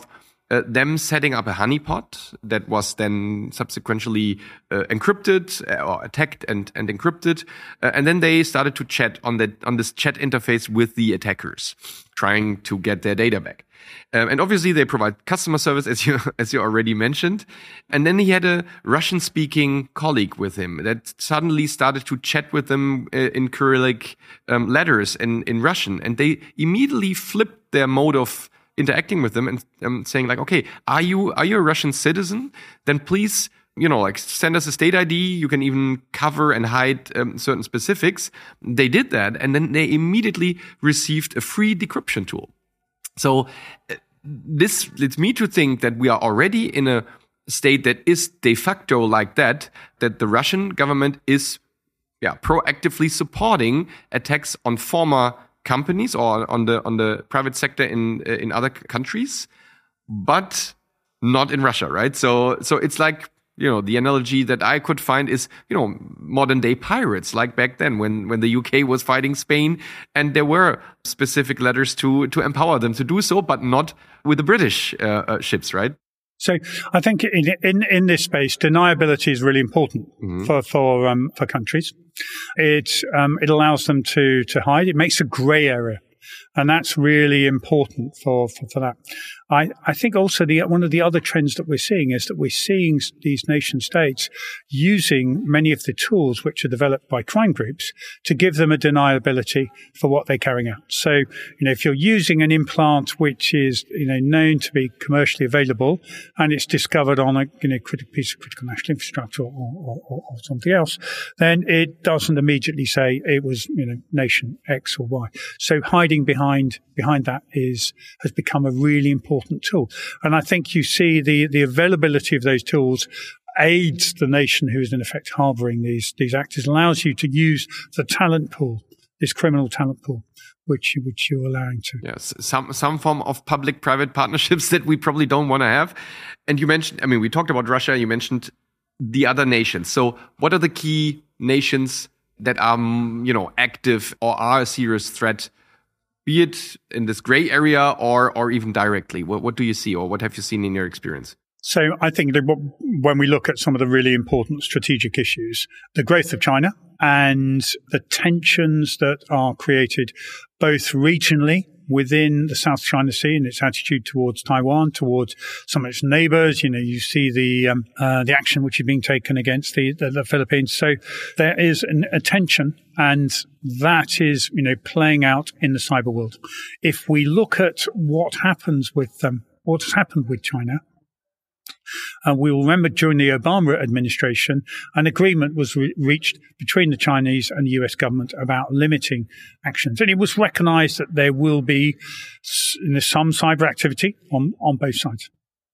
uh, them setting up a honeypot that was then subsequently uh, encrypted uh, or attacked and, and encrypted. Uh, and then they started to chat on that, on this chat interface with the attackers, trying to get their data back. Um, and obviously they provide customer service, as you, as you already mentioned. And then he had a Russian speaking colleague with him that suddenly started to chat with them uh, in Cyrillic um, letters in, in Russian. And they immediately flipped their mode of interacting with them and um, saying like, okay, are you, are you a Russian citizen? Then please, you know, like send us a state I D. You can even cover and hide um, certain specifics. They did that. And then they immediately received a free decryption tool. So uh, this leads me to think that we are already in a state that is de facto like that, that the Russian government is yeah, proactively supporting attacks on former companies or on the on the private sector in uh, in other countries, but not in Russia, right? So so it's like, you know, the analogy that I could find is, you know, modern day pirates, like back then when when the U K was fighting Spain, and there were specific letters to to empower them to do so, but not with the British uh, uh, ships, right? So I think in in, in this space, deniability is really important mm-hmm. for for um, for countries. It um, it allows them to to hide. It makes a grey area, and that's really important for for, for that. I, I think also the one of the other trends that we're seeing is that we're seeing these nation states using many of the tools which are developed by crime groups to give them a deniability for what they're carrying out. So, you know, if you're using an implant which is, you know, known to be commercially available and it's discovered on a, you know, critical piece of critical national infrastructure or, or, or, or something else, then it doesn't immediately say it was, you know, nation X or Y. So hiding behind behind that is has become a really important tool. And I think you see the, the availability of those tools aids the nation who is in effect harboring these, these actors, allows you to use the talent pool, this criminal talent pool, which, which you're allowing to. Yes, some, some form of public-private partnerships that we probably don't want to have. And you mentioned, I mean, we talked about Russia, you mentioned the other nations. So what are the key nations that are, you know, active or are a serious threat, be it in this gray area or or even directly? What, what do you see, or what have you seen in your experience? So I think that when we look at some of the really important strategic issues, the growth of China and the tensions that are created both regionally within the South China Sea and its attitude towards Taiwan, towards some of its neighbors. You know, you see the um, uh, the action which is being taken against the, the, the Philippines. So there is an, a tension, and that is, you know, playing out in the cyber world. If we look at what happens with um, what's happened with China, Uh, we will remember during the Obama administration, an agreement was re- reached between the Chinese and the U S government about limiting actions. And it was recognized that there will be you know, some cyber activity on, on both sides.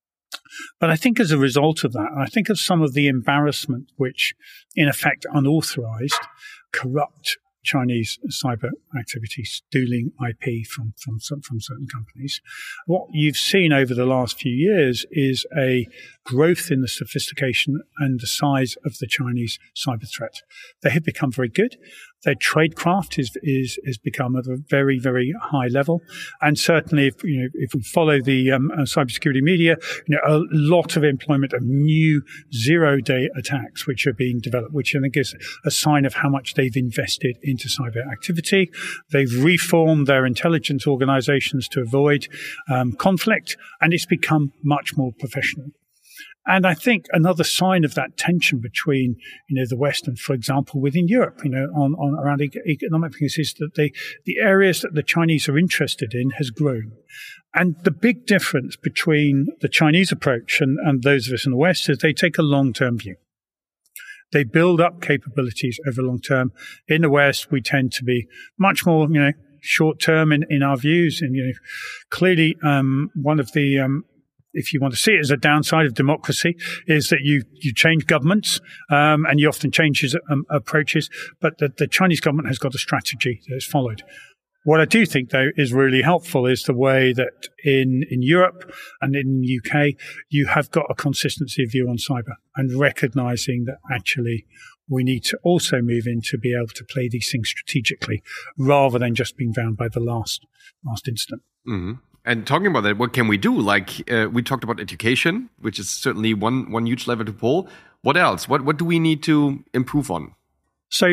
But I think as a result of that, I think of some of the embarrassment which, in effect, unauthorized, corrupt Chinese cyber activity, stealing I P from, from, from certain companies. What you've seen over the last few years is a growth in the sophistication and the size of the Chinese cyber threat. They have become very good. Their tradecraft is, is, is become at a very, very high level. And certainly, if, you know, if we follow the um, uh, cybersecurity media, you know, a lot of employment of new zero-day attacks which are being developed, which I think is a sign of how much they've invested into cyber activity. They've reformed their intelligence organizations to avoid um, conflict, and it's become much more professional. And I think another sign of that tension between, you know, the West and, for example, within Europe, you know, on, on around economic things is that they, the areas that the Chinese are interested in has grown. And the big difference between the Chinese approach and, and those of us in the West is they take a long-term view. They build up capabilities over long term. In the West, we tend to be much more, you know, short term in, in our views. And, you know, clearly, um, one of the, um, if you want to see it as a downside of democracy, is that you, you change governments, um, and you often change um, approaches, but the, the Chinese government has got a strategy that's followed. What I do think, though, is really helpful is the way that in, in Europe and in the U K, you have got a consistency of view on cyber and recognizing that actually we need to also move in to be able to play these things strategically rather than just being bound by the last, last incident. Mm-hmm. And talking about that, what can we do? Like uh, we talked about education, which is certainly one one huge lever to pull. What else? What what do we need to improve on? So,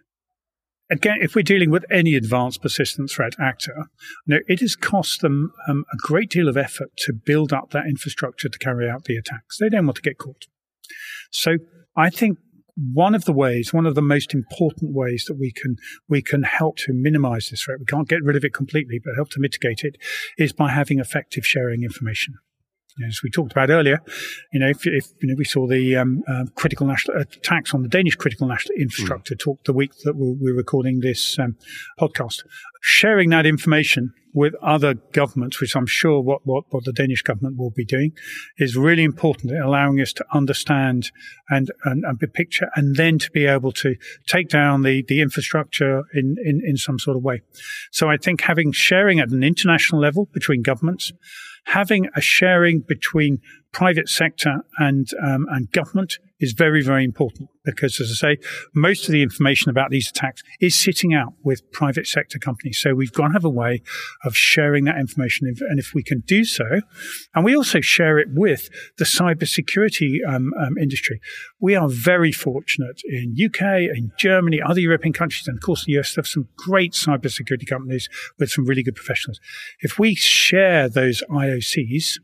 again, if we're dealing with any advanced persistent threat actor, you know, it has cost them um, a great deal of effort to build up that infrastructure to carry out the attacks. They don't want to get caught. So, I think one of the ways, one of the most important ways that we can we can help to minimize this threat, we can't get rid of it completely, but help to mitigate it, is by having effective sharing information. As we talked about earlier, you know, if, if you know, we saw the um, uh, critical national attacks on the Danish critical national infrastructure mm. talk the week that we're, we're recording this um, podcast, sharing that information with other governments, which I'm sure what, what, what the Danish government will be doing, is really important, allowing us to understand and, and, and picture, and then to be able to take down the, the infrastructure in, in, in some sort of way. So I think having sharing at an international level between governments, having a sharing between private sector and um, and government is very, very important because, as I say, most of the information about these attacks is sitting out with private sector companies. So we've got to have a way of sharing that information. And if we can do so, and we also share it with the cybersecurity um, um, industry, we are very fortunate in U K, in Germany, other European countries, and of course the U S have some great cybersecurity companies with some really good professionals. If we share those I O Cs,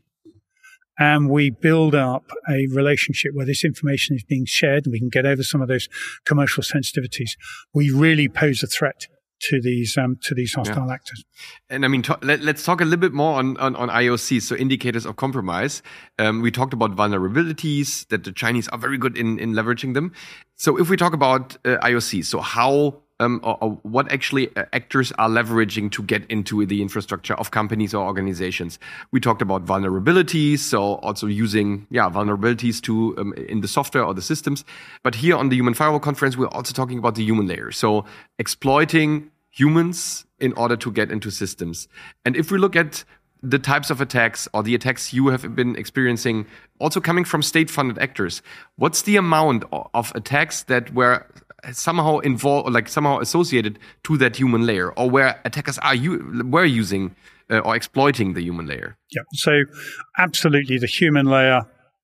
and we build up a relationship where this information is being shared and we can get over some of those commercial sensitivities, we really pose a threat to these um, to these hostile yeah. actors. And I mean, to, let, let's talk a little bit more on, on, on I O Cs, so indicators of compromise. Um, we talked about vulnerabilities, that the Chinese are very good in, in leveraging them. So if we talk about uh, I O Cs, so how Um, or, or what actually uh, actors are leveraging to get into the infrastructure of companies or organizations. We talked about vulnerabilities, so also using yeah vulnerabilities to um, in the software or the systems. But here on the Human Firewall Conference, we're also talking about the human layer. So exploiting humans in order to get into systems. And if we look at the types of attacks or the attacks you have been experiencing, also coming from state-funded actors, what's the amount of attacks that were somehow involved, or like somehow associated to that human layer, or where attackers are you were using uh, or exploiting the human layer? Yeah, so absolutely, the human layer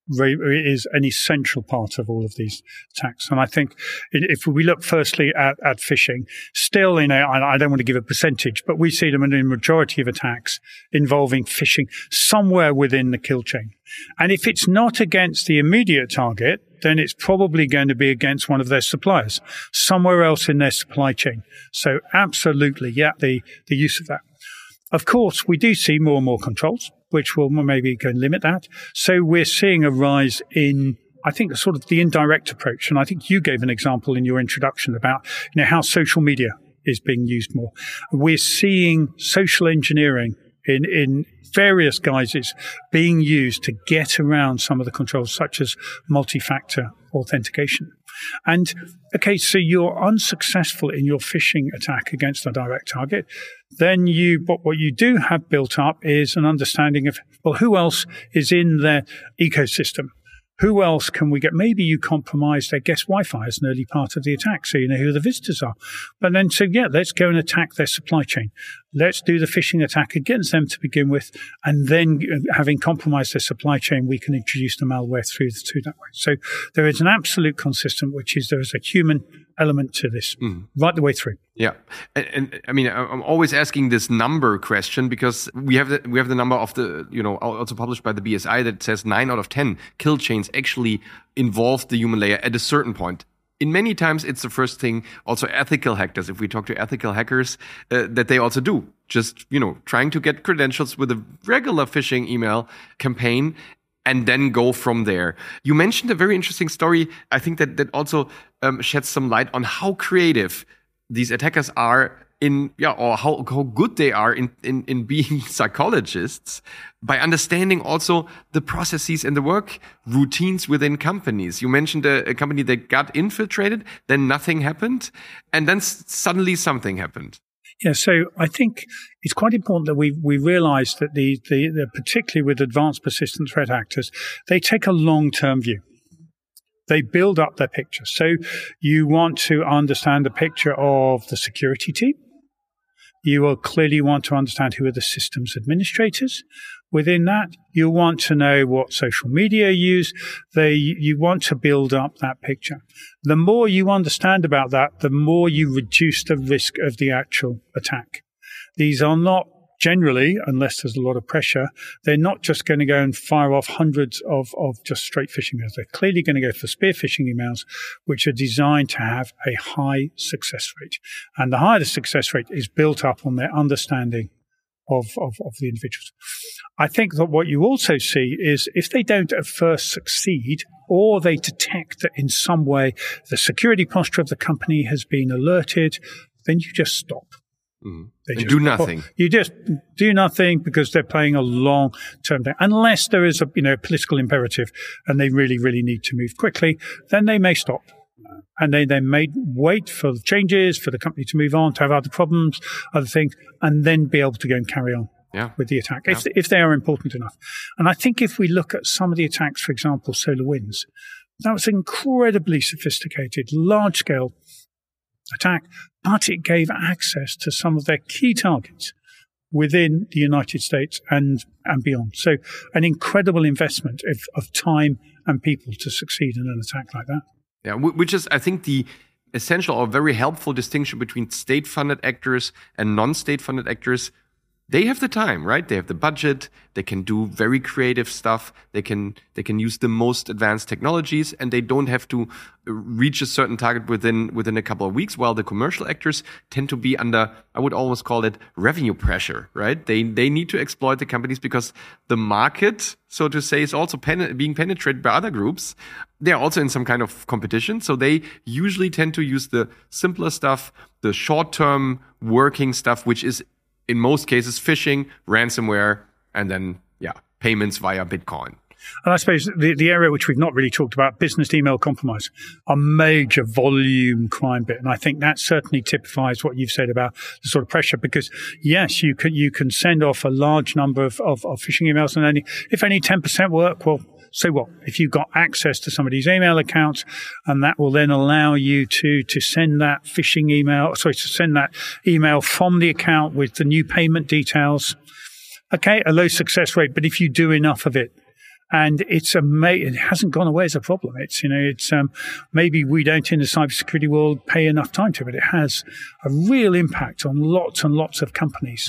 is an essential part of all of these attacks. And I think if we look firstly at, at phishing, still, you know, I, I don't want to give a percentage, but we see them in a majority of attacks involving phishing somewhere within the kill chain. And if it's not against the immediate target, then it's probably going to be against one of their suppliers, somewhere else in their supply chain. So absolutely, yeah, the, the use of that. Of course, we do see more and more controls, which will maybe go and limit that. So we're seeing a rise in, I think, sort of the indirect approach. And I think you gave an example in your introduction about, you know, how social media is being used more. We're seeing social engineering in, in various guises being used to get around some of the controls, such as multi-factor authentication. And, okay, so you're unsuccessful in your phishing attack against a direct target. Then you, but what you do have built up is an understanding of, well, who else is in their ecosystem? Who else can we get? Maybe you compromise their guest Wi-Fi as an early part of the attack, so you know who the visitors are. But then, so yeah, let's go and attack their supply chain. Let's do the phishing attack against them to begin with, and then having compromised their supply chain, we can introduce the malware through, through that way. So there is an absolute consistent, which is there is a human element to this mm. right the way through. Yeah, and, and I mean, I'm always asking this number question because we have the, we have the number of the, you know, also published by the B S I that says nine out of ten kill chains actually involve the human layer at a certain point. In many times, it's the first thing, also ethical hackers, if we talk to ethical hackers, uh, that they also do. Just, you know, trying to get credentials with a regular phishing email campaign and then go from there. You mentioned a very interesting story. I think that, that also um, sheds some light on how creative these attackers are in, yeah, or how, how good they are in, in, in being psychologists by understanding also the processes and the work routines within companies. You mentioned a, a company that got infiltrated, then nothing happened, and then s- suddenly something happened. Yeah, so I think it's quite important that we we realize that the, the, the particularly with advanced persistent threat actors, they take a long-term view. They build up their picture. So you want to understand the picture of the security team. You will clearly want to understand who are the systems administrators. Within that, you want to know what social media use. They, you want to build up that picture. The more you understand about that, the more you reduce the risk of the actual attack. These are not generally, unless there's a lot of pressure, they're not just going to go and fire off hundreds of, of just straight phishing emails. They're clearly going to go for spear phishing emails, which are designed to have a high success rate. And the higher the success rate is built up on their understanding of, of, of the individuals. I think that what you also see is if they don't at first succeed, or they detect that in some way the security posture of the company has been alerted, then you just stop. Mm. They just do nothing. You just do nothing because they're playing a long-term thing. Unless there is a you know political imperative and they really, really need to move quickly, then they may stop. And they, they may wait for the changes, for the company to move on, to have other problems, other things, and then be able to go and carry on yeah. with the attack, yeah. if, if they are important enough. And I think if we look at some of the attacks, for example, SolarWinds, that was incredibly sophisticated, large-scale attack, but it gave access to some of their key targets within the United States and, and beyond. So an incredible investment of, of time and people to succeed in an attack like that. Yeah, which is, I think, the essential or very helpful distinction between state-funded actors and non-state-funded actors. They have the time, right? They have the budget. They can do very creative stuff. They can they can use the most advanced technologies, and they don't have to reach a certain target within within a couple of weeks. While the commercial actors tend to be under, I would almost call it revenue pressure, right? They they need to exploit the companies because the market, so to say, is also pen- being penetrated by other groups. They are also in some kind of competition, so they usually tend to use the simpler stuff, the short-term working stuff, which is in most cases, phishing, ransomware, and then, yeah, payments via Bitcoin. And I suppose the, the area which we've not really talked about, business email compromise, a major volume crime bit. And I think that certainly typifies what you've said about the sort of pressure, because yes, you can, you can send off a large number of, of, of phishing emails, and only, if only ten percent work, well, so what? If you've got access to somebody's email accounts, and that will then allow you to, to send that phishing email, sorry, to send that email from the account with the new payment details. Okay, a low success rate, but if you do enough of it, and it's a, it hasn't gone away as a problem. It's, you know, it's, um, maybe we don't in the cybersecurity world pay enough time to it, but it has a real impact on lots and lots of companies.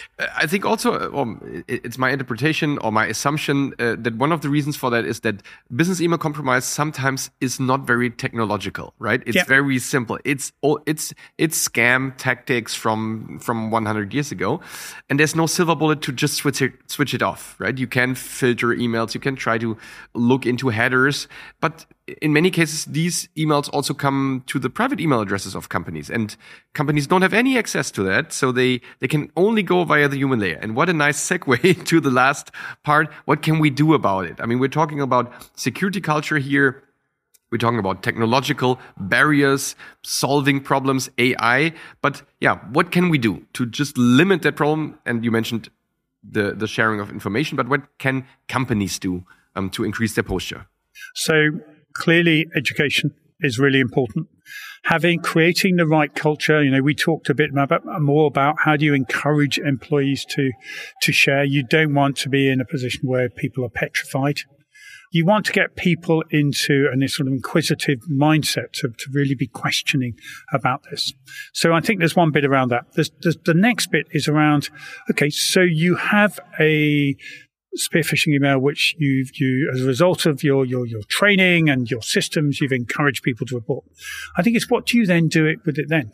I think also um, it's my interpretation or my assumption uh, that one of the reasons for that is that business email compromise sometimes is not very technological, right? It's yeah. very simple. It's it's it's scam tactics from from one hundred years ago, and there's no silver bullet to just switch it switch it off, right? You can filter emails, you can try to look into headers, but in many cases, these emails also come to the private email addresses of companies, and companies don't have any access to that. So they, they can only go via the human layer. And what a nice segue to the last part. What can we do about it? I mean, we're talking about security culture here. We're talking about technological barriers, solving problems, A I. But yeah, what can we do to just limit that problem? And you mentioned the, the sharing of information, but what can companies do um, to increase their posture? So clearly, education is really important. Having, creating the right culture. You know, we talked a bit about, more about how do you encourage employees to, to share. You don't want to be in a position where people are petrified. You want to get people into a sort of inquisitive mindset to, to really be questioning about this. So I think there's one bit around that. There's, there's, the next bit is around, okay, so you have a spear phishing email, which you've, you, as a result of your, your, your training and your systems, you've encouraged people to report. I think it's what do you then do it with it then?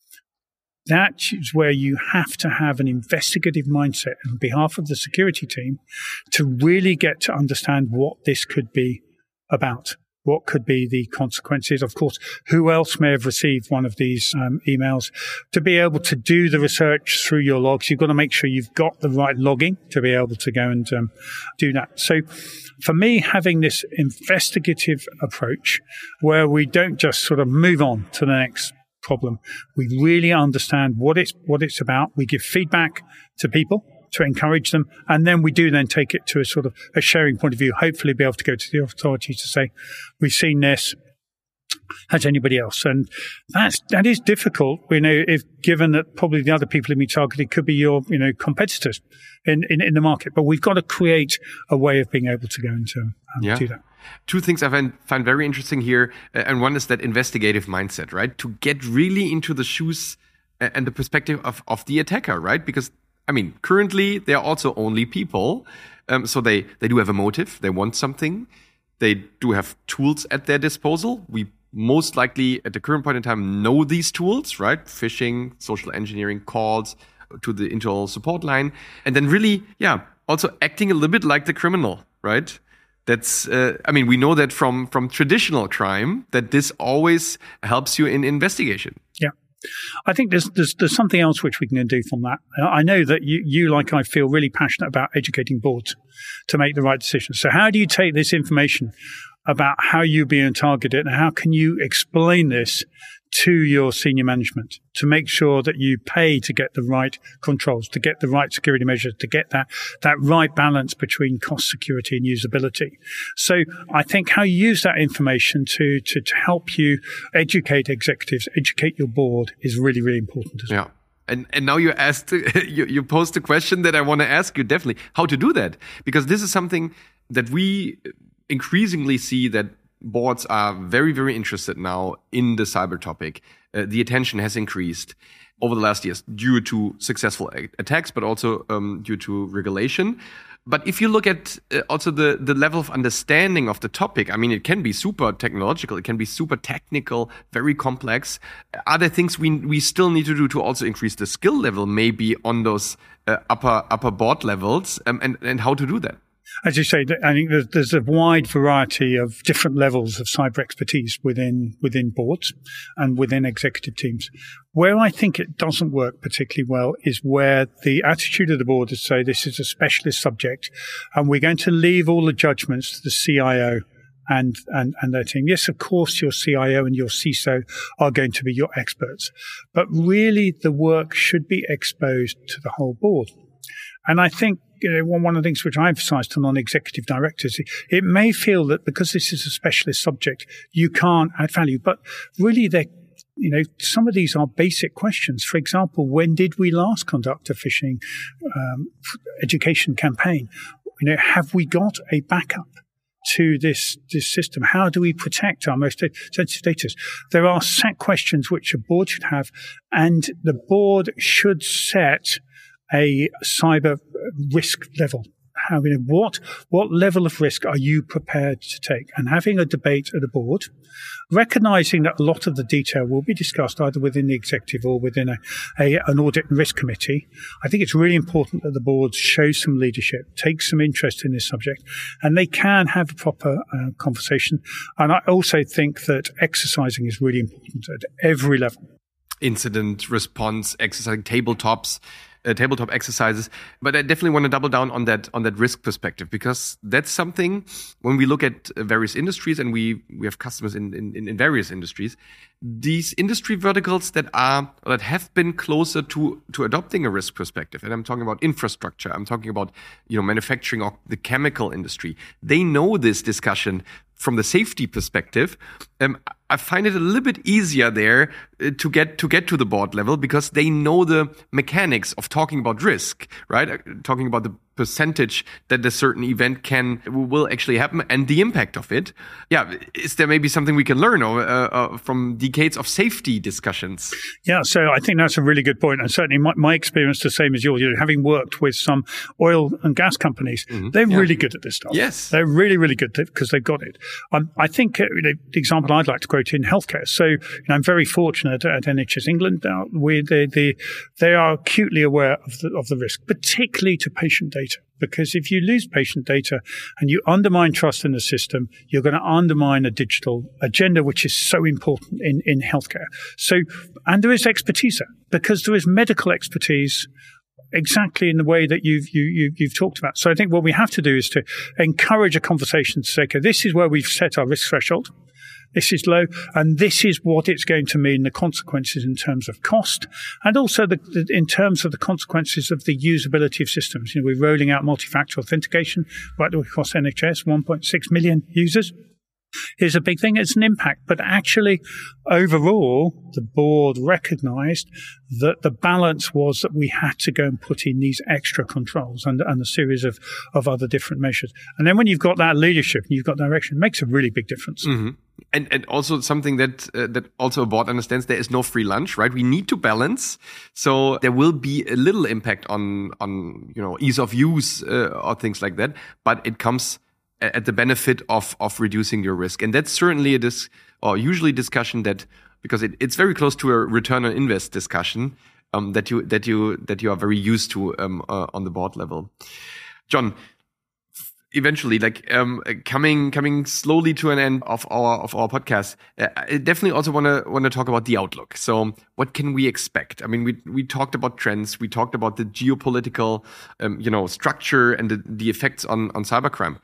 That is where you have to have an investigative mindset on behalf of the security team to really get to understand what this could be about. What could be the consequences? Of course, who else may have received one of these um, emails? To be able to do the research through your logs, you've got to make sure you've got the right logging to be able to go and um, do that. So for me, having this investigative approach where we don't just sort of move on to the next problem, we really understand what it's, what it's about. We give feedback to people to encourage them. And then we do then take it to a sort of a sharing point of view, hopefully be able to go to the authorities to say, we've seen this. as anybody else. And that's, that is difficult, you know, if given that probably the other people who be targeted could be your, you know, competitors in, in, in the market. But we've got to create a way of being able to go into um, yeah. do that. Two things I find, find very interesting here. Uh, and one is that investigative mindset, right? To get really into the shoes and the perspective of, of the attacker, right? Because, I mean, currently they're also only people. Um, so they, they do have a motive. They want something. They do have tools at their disposal. We most likely at the current point in time know these tools, right? Phishing, social engineering, calls to the internal support line. And then really, yeah, also acting a little bit like the criminal, right? That's, uh, I mean, we know that from, from traditional crime that this always helps you in investigation. Yeah. I think there's, there's there's something else which we can do from that. I know that you, you, like I, feel really passionate about educating boards to make the right decisions. So how do you take this information about how you're being targeted and how can you explain this to your senior management to make sure that you pay to get the right controls, to get the right security measures, to get that, that right balance between cost, security and usability. So I think how you use that information to, to, to help you educate executives, educate your board is really, really important as well. Yeah. And and now you asked, you, you posed a question that I want to ask you definitely, how to do that. Because this is something that we increasingly see that boards are very, very interested now in the cyber topic. Uh, the attention has increased over the last years due to successful a- attacks, but also um, due to regulation. But if you look at uh, also the, the level of understanding of the topic, I mean, it can be super technological, it can be super technical, very complex. Are there things we we still need to do to also increase the skill level, maybe on those uh, upper upper board levels, um, and, and how to do that? As you say, I think there's, there's a wide variety of different levels of cyber expertise within within boards and within executive teams. Where I think it doesn't work particularly well is where the attitude of the board is to say this is a specialist subject and we're going to leave all the judgments to the C I O and, and, and their team. Yes, of course, your C I O and your C I S O are going to be your experts, but really the work should be exposed to the whole board. And I think you know, one of the things which I emphasize to non-executive directors, it may feel that because this is a specialist subject, you can't add value. But really, they, you know, some of these are basic questions. For example, when did we last conduct a phishing um, education campaign? You know, have we got a backup to this this system? How do we protect our most sensitive data? There are set questions which a board should have, and the board should set a cyber risk level. How, you know, what, what level of risk are you prepared to take? And having a debate at the board, recognizing that a lot of the detail will be discussed either within the executive or within a, a, an audit and risk committee. I think it's really important that the board show some leadership, take some interest in this subject, and they can have a proper uh, conversation. And I also think that exercising is really important at every level. Incident response, exercising, tabletops. Uh, tabletop exercises, but I definitely want to double down on that on that risk perspective, because that's something when we look at various industries and we we have customers in in, in various industries, these industry verticals that are that have been closer to to adopting a risk perspective, and I'm talking about infrastructure, I'm talking about you know manufacturing or the chemical industry. They know this discussion from the safety perspective. Um, I find it a little bit easier there uh, to get to get to the board level because they know the mechanics of talking about risk, right? Uh, talking about the percentage that a certain event can will actually happen and the impact of it. Yeah, is there maybe something we can learn or, uh, uh, from decades of safety discussions? Yeah, so I think that's a really good point, and certainly my, my experience the same as yours. You know, having worked with some oil and gas companies, mm-hmm. they're yeah. really good at this stuff. Yes, they're really really good because they've got it. Um, I think uh, you know, the example I'd like to quote in healthcare. So you know, I'm very fortunate at N H S England. Uh, where they, they they are acutely aware of the of the risk, particularly to patient data. Because if you lose patient data and you undermine trust in the system, you're going to undermine a digital agenda, which is so important in, in healthcare. So, and there is expertise there because there is medical expertise exactly in the way that you've, you, you, you've talked about. So I think what we have to do is to encourage a conversation to say, okay, this is where we've set our risk threshold. This is low, and this is what it's going to mean, the consequences in terms of cost, and also the, the, in terms of the consequences of the usability of systems. You know, we're rolling out multi-factor authentication right across N H S, one point six million users. is a big thing. It's an impact. But actually, overall, the board recognized that the balance was that we had to go and put in these extra controls and, and a series of, of other different measures. And then when you've got that leadership and you've got direction, it makes a really big difference. Mm-hmm. And and also something that uh, that also a board understands, there is no free lunch, right? We need to balance. So there will be a little impact on, on you know, ease of use uh, or things like that. But it comes at the benefit of of reducing your risk. And that's certainly a dis or usually discussion that, because it, it's very close to a return on invest discussion um, that you that you that you are very used to um, uh, on the board level. John, eventually, like um, coming coming slowly to an end of our of our podcast, uh, I definitely also want to want to talk about the outlook. So, what can we expect? I mean, we we talked about trends, we talked about the geopolitical, um, you know, structure and the, the effects on on cybercrime.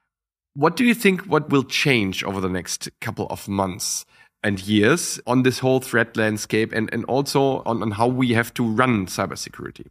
What do you think? What will change over the next couple of months and years on this whole threat landscape, and and also on, on how we have to run cybersecurity?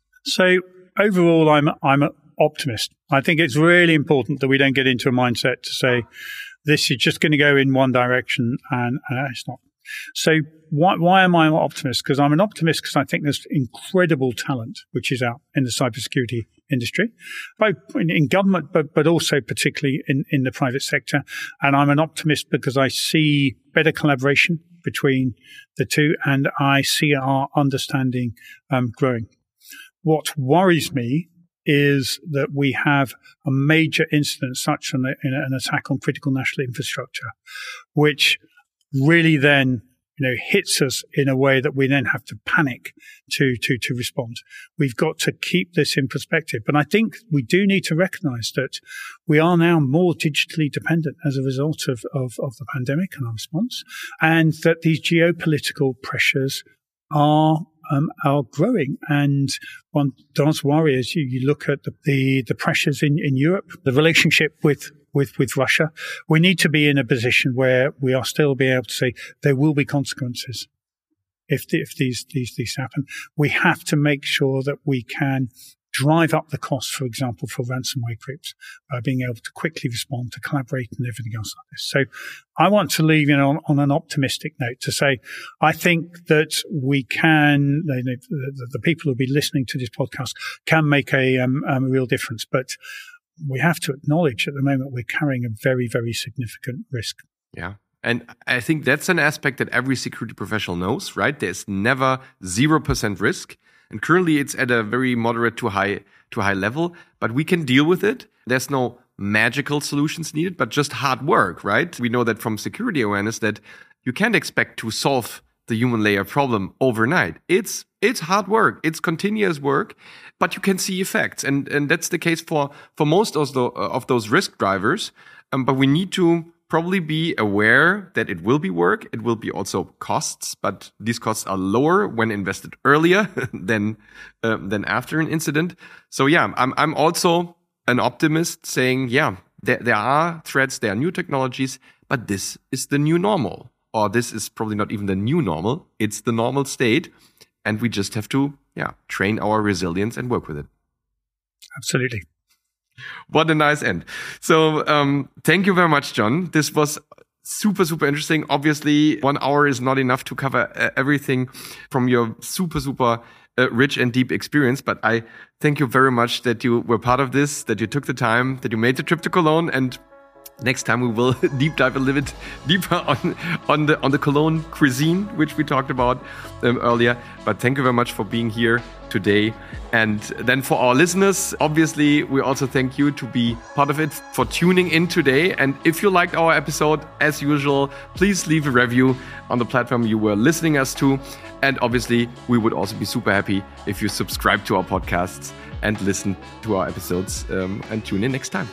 So overall, I'm I'm an optimist. I think it's really important that we don't get into a mindset to say this is just going to go in one direction, and uh, it's not. So why why am I an optimist? Because I'm an optimist because I think there's incredible talent which is out in the cybersecurity industry, both in, in government, but but also particularly in, in the private sector. And I'm an optimist because I see better collaboration between the two, and I see our understanding um, growing. What worries me is that we have a major incident, such an, an attack on critical national infrastructure, which really then, you know, hits us in a way that we then have to panic to, to, to respond. We've got to keep this in perspective. But I think we do need to recognize that we are now more digitally dependent as a result of, of, of the pandemic and our response, and that these geopolitical pressures are Um, are growing. And one does worry as you, you look at the, the, the pressures in, in Europe, the relationship with, with, with Russia. We need to be in a position where we are still being able to say there will be consequences if, the, if these, these, these happen. We have to make sure that we can drive up the cost, for example, for ransomware groups by being able to quickly respond, to collaborate and everything else like this. So I want to leave, you know, on, on an optimistic note to say, I think that we can, you know, the, the people who will be listening to this podcast can make a, um, um, a real difference. But we have to acknowledge at the moment we're carrying a very, very significant risk. Yeah. And I think that's an aspect that every security professional knows, right? There's never zero percent risk. And currently it's at a very moderate to high to high level, but we can deal with it. There's no magical solutions needed, but just hard work, right? We know that from security awareness that you can't expect to solve the human layer problem overnight. It's it's hard work. It's continuous work, but you can see effects. And and that's the case for, for most of, the, of those risk drivers. Um, but we need to probably be aware that it will be work. It will be also costs, but these costs are lower when invested earlier than uh, than after an incident. So yeah, I'm I'm also an optimist, saying yeah, there there are threats, there are new technologies, but this is the new normal, or this is probably not even the new normal. It's the normal state, and we just have to yeah train our resilience and work with it. Absolutely. What a nice end. So um, thank you very much, John. This was super, super interesting. Obviously, one hour is not enough to cover uh, everything from your super, super uh, rich and deep experience. But I thank you very much that you were part of this, that you took the time, that you made the trip to Cologne. And next time we will deep dive a little bit deeper on, on, the, on the Cologne cuisine, which we talked about um, earlier. But thank you very much for being here today. And then for our listeners, obviously, we also thank you to be part of it, for tuning in today. And if you liked our episode, as usual, please leave a review on the platform you were listening us to. And obviously, we would also be super happy if you subscribe to our podcasts and listen to our episodes um, and tune in next time.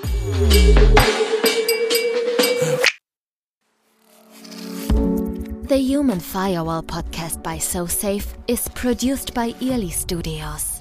The Human Firewall podcast by SoSafe is produced by Early Studios.